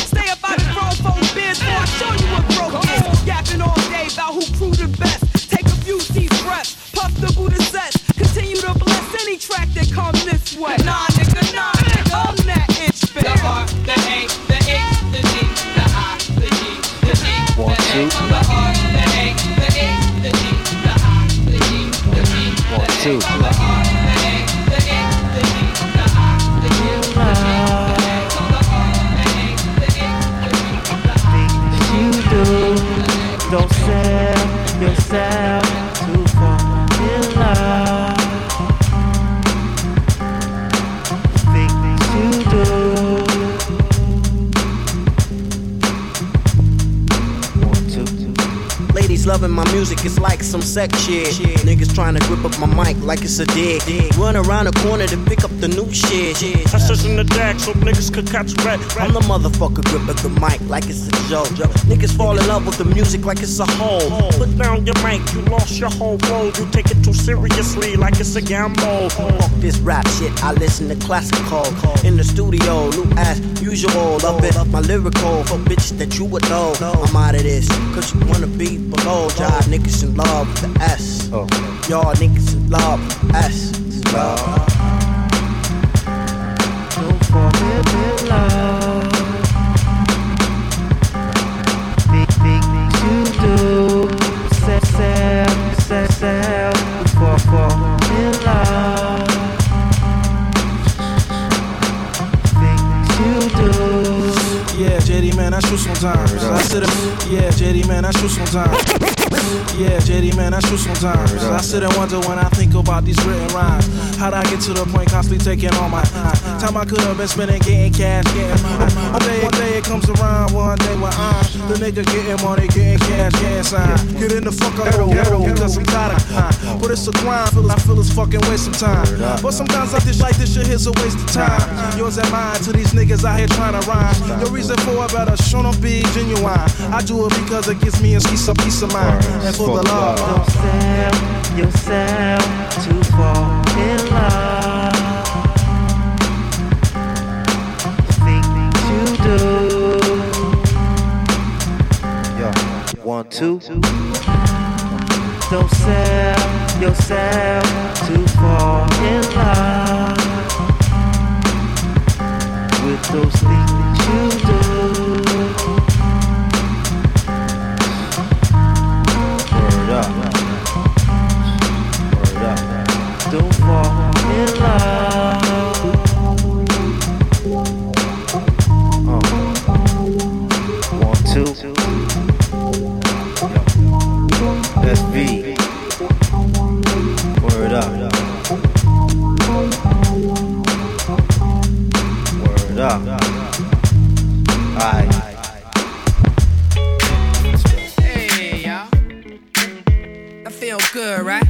Yapping all day about who crew the best. Take a loving my music, it's like some sex shit. Niggas trying to grip up my mic like it's a dick. Run around the corner to pick up the new shit. I search in the deck so niggas could catch red. I'm the motherfucker grip up the mic like it's a joke. Niggas fall in love with the music like it's a hole. Put down your mic, you lost your whole road. You take it too seriously like it's a gamble. Fuck this rap shit, I listen to classical. In the studio, new as usual. Love it, my lyrical for bitches that you would know. I'm out of this, cause you wanna be below. Jive niggas in love with the S. Y'all niggas in love with the S. Love. Don't fall in love. Big, big to do. Sell, sell, sell, sell. Fall, fall in love. Things you do. Yeah, J D man, I shoot sometimes. I sit up. Yeah, J D man, I shoot sometimes. Yeah, J D man, I shoot sometimes. I sit and wonder when I think about these written rhymes. How'd I get to the point constantly taking all my time? Time I could have been spending getting cash, getting mine. One day, one day it comes around, one day when I'm the nigga getting money, getting cash, getting signed. Get in the fuck up, ghetto, ghetto, because I'm tired of crime. But it's a grind, I feel it's fucking waste of time. But sometimes I dish like this shit here's a waste of time. Yours and mine to these niggas out here trying to rhyme. Your reason for it better show them be genuine. I do it because it gives me a piece of peace of mind. And for the love, don't sell yourself to fall in love. Things you do. Yo, one, two. Don't sell yourself to fall in love with those things you do. Don't fall in love. Uh. One, two. S V. Word up. Word up. Alright. Hey, y'all. That feel good, right?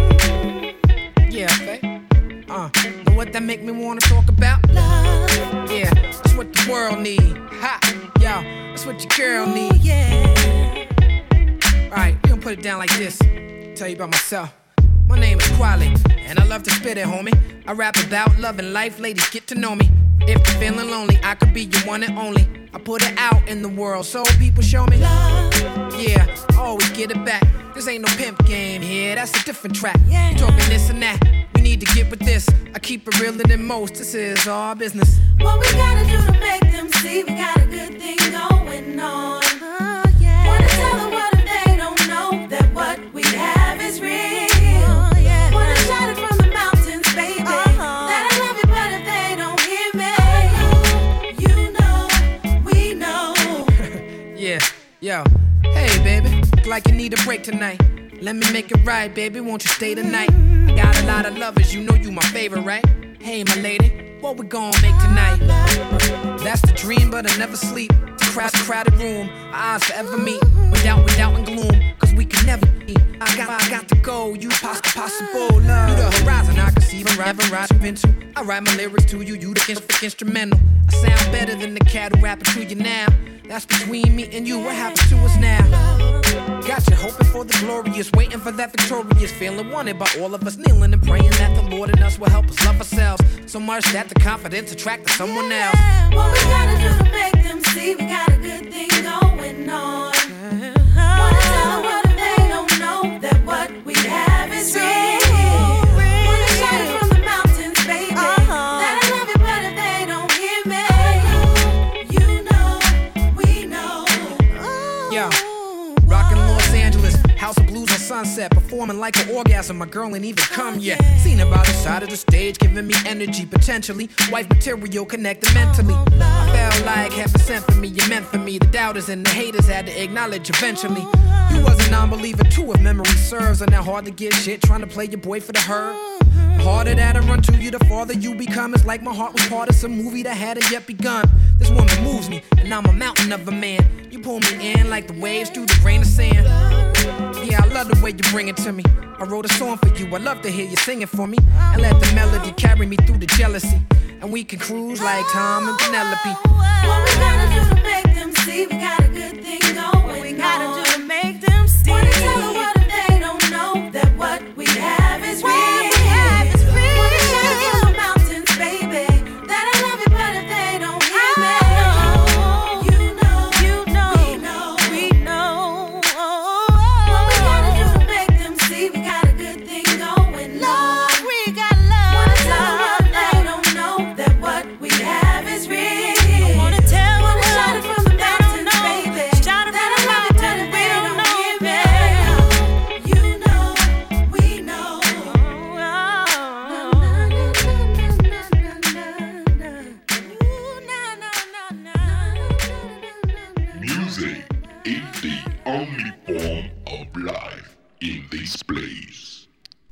Yeah, babe. Uh, know what that make me wanna talk about? Love. Yeah, that's what the world need. Ha, yo, that's what your girl need. Yeah. Alright, we gon' put it down like this. Tell you about myself. My name is Quali, and I love to spit it, homie. I rap about love and life, ladies get to know me. If you're feeling lonely, I could be your one and only. I put it out in the world so people show me love. Yeah, always get it back. This ain't no pimp game here, that's a different track. Yeah. You talking this and that, we need to get with this. I keep it realer than most, this is our business. What we gotta do to make them see we got a good thing going on. Oh, yeah. Wanna tell the world if they don't know that what we have is real. Oh, yeah. Wanna shout it from the mountains, baby, uh-huh. That I love you, but if they don't hear me, you know, we know. Yeah, yo, hey baby, look like you need a break tonight. Let me make it right, baby, won't you stay tonight? I got a lot of lovers, you know you my favorite, right? Hey my lady, what we gon' make tonight? That's the dream, but I never sleep. It's a crowded, crowded room, our eyes forever meet. Without, without and gloom, cause we can never eat. I got, I got to go, you poss- possible love. You the horizon I can see, even never rise you've been to. I write my lyrics to you, you the ins- instrumental. I sound better than the cat who rapping to you now. That's between me and you, what happened to us now? Got you hoping for the glorious, waiting for that victorious, feeling wanted by all of us, kneeling and praying that the Lord in us will help us love ourselves so much that the confidence attracts someone else. What we gotta do to make them see we got a good thing going on. Wanna tell the world if they don't know that what we have is real. Wanna shout it from the mountains, baby, that I love you, but if they don't hear me, you know, we know. Yo, rockin' Los Angeles, House of Blues on Sunset, performing like an orgasm, my girl ain't even come yet. Seen her by the side of the stage, giving me energy, potentially wife material, connected mentally. I felt like heaven sent for me, you meant for me. The doubters and the haters had to acknowledge eventually. You was a non-believer too, if memory serves, and now hard to get shit, trying to play your boy for the herd. The harder that I run to you, the farther you become. It's like my heart was part of some movie that hadn't yet begun. This woman moves me, and I'm a mountain of a man. You pull me in like the waves through the grain of sand. Yeah, I love the way you bring it to me. I wrote a song for you, I love to hear you sing it for me. And let the melody carry me through the jealousy. And we can cruise like Tom and Penelope. What we gotta do to make them see we got a good thing going? What we gotta on? do to make them see? Wanna tell them what if they don't know that what we have is real? What we have is real. Wanna shout from the mountains, baby, that I love you, but if they don't hear me, you know, you know, we know, we know. What we gotta do to make them see we got a good thing going? Love, we got love. Wanna tell them what if they don't know that what we have is real? I wanna tell them what shout it from the mountains, baby, shout it that I love you, but if they don't hear me, you know, we know. Music is the only form of life in this place.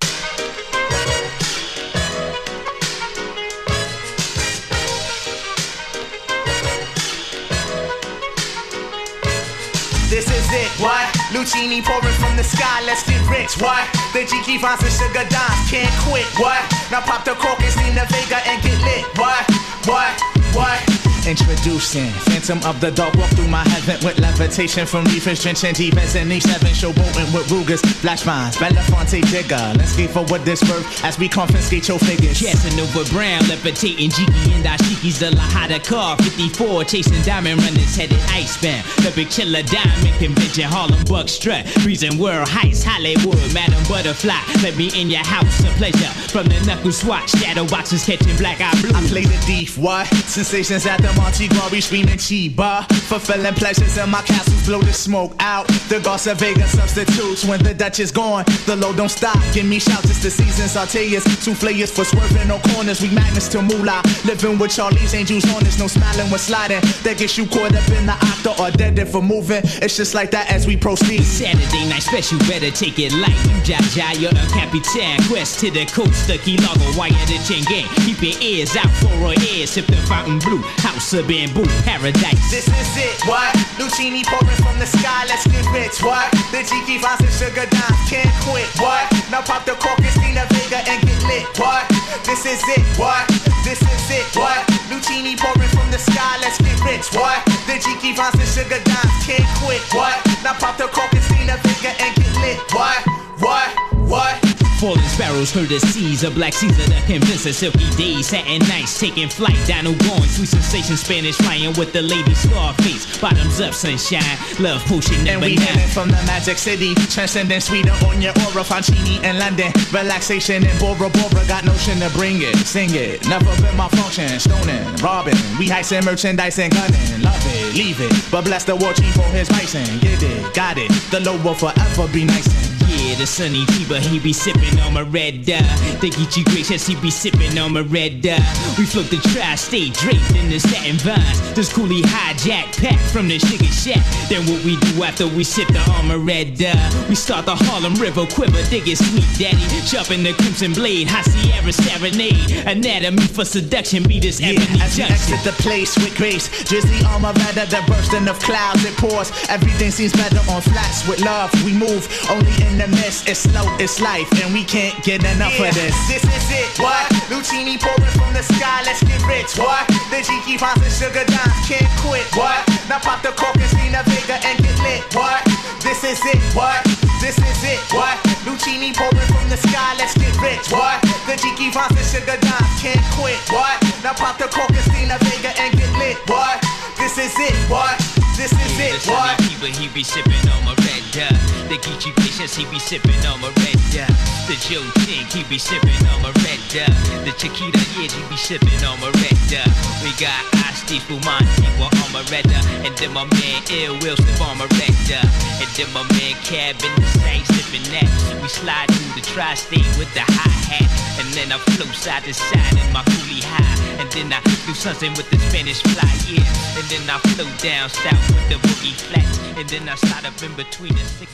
This is it, what? Lucini pouring from the sky, let's get rich, what? The G Vines and Sugar Dimes can't quit, what? Now pop the cork and Selena Vega and get lit, what? What? What? Introducing Phantom of the Dark, walk through my heaven with levitation from reefers, drenching defense in each seven, showboating with Rugers, Flash Vines, Belafonte Digger. Let's skate for what this worth as we confiscate your figures. Casanova Brown, levitating Jiki and Ashiki's the Lahada car, fifty-four, chasing diamond runners, headed icebound. The big chiller diamond convention, Harlem Buck strut, freezing world heights, Hollywood, Madam Butterfly. Let me in your house, a pleasure. From the knuckle swatch, shadow boxes catching black eye blue. I play the thief, what? Sensations at the Monte Glory screaming Chiba. Fulfilling pleasures in my castles, blow the smoke out. The Garza Vega substitutes when the Dutch is gone. The load don't stop, give me shouts, it's the season. Sauteas, souffleurs for swerving on corners. We magnets to moolah, living with Charlie's Angels on us. No smiling when sliding, that gets you caught up in the octa or dead if for moving. It's just like that as we proceed. Saturday night special, better take it light. You Jaja, you're a Capitan. Quest to the coast, the Key Largo, wire the chain gang. Keep your ears out for our ears, sip the fountain blue. House of bamboo, paradise. This is it, what? Lucini pouring from the sky, let's get rich, what? The G Vines and Sugar Dimes can't quit, what? Now pop the cork and Selena Vega and get lit, what? This is it, what? This is it, what? Lucini pouring from the sky, let's get rich, what? The G Vines and Sugar Dimes can't quit, what? Now pop the cork and Selena Vega and get lit, what? What? What? Falling sparrows heard the seas, a black Caesar that convinced us. Silky days, satin nights, taking flight. Dino going, sweet sensation, Spanish flying with the lady Scarface. Bottoms up, sunshine, love potion number nine. And we hailing from the Magic City, transcending sweeter on your aura. Fancini in London, relaxation in Bora Bora. Got notion to bring it, sing it. Never been my function, stoning, robbing. We heisting merchandise and gunning. Love it, leave it, but bless the war chief for his bison. Get it, got it. The low will forever be nice. Yeah, the sunny Tiba, he be sipping on my red dye. Think he gracious, he be sipping on my red dye. We float the tri-state draped in the satin vines. This coolie hijack pack from the sugar shack. Then what we do after we sip the armor red dye? We start the Harlem River quiver, dig it sweet daddy. Sharpen the crimson blade, high Sierra serenade. Anatomy for seduction, be this yeah, ebony as we junction. exit the place with grace. Drizzly armor rather than bursting of clouds, it pours. Everything seems better on flats with love. We move only in the mist, it's slow, it's life, and we can't get enough yeah, of this. This is it, what? Lucini pouring from the sky, let's get rich, what? The G Vines and Sugar Dimes can't quit, what? Now pop the cork and Selena Vega and get lit, what? This is it, what? This is it, what? Lucini pouring from the sky, let's get rich, what? The G Vines and Sugar Dimes can't quit, what? Now pop the cork and Selena Vega and get lit, what? This is it, what? This is yeah, it, what? But he be sipping on my red dye. The Geechee Patience, he be sipping on my red dye. The Joe Tink, he be sipping on my red dye. The Chiquita, yeah, he be sipping on my red dye. We got Asti Fuman, people on my red dye. And then my man Ill Will slip on my red dye. And then my man Cab in the same sipping that. We slide through the tri-state with the hi-hat. And then I flow side to side in my coolie high. And then I do something with the Spanish fly, yeah. And then I flow down south with the boogie flats. And then I slide up in between the sticky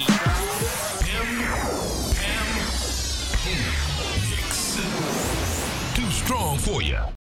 Too strong for you.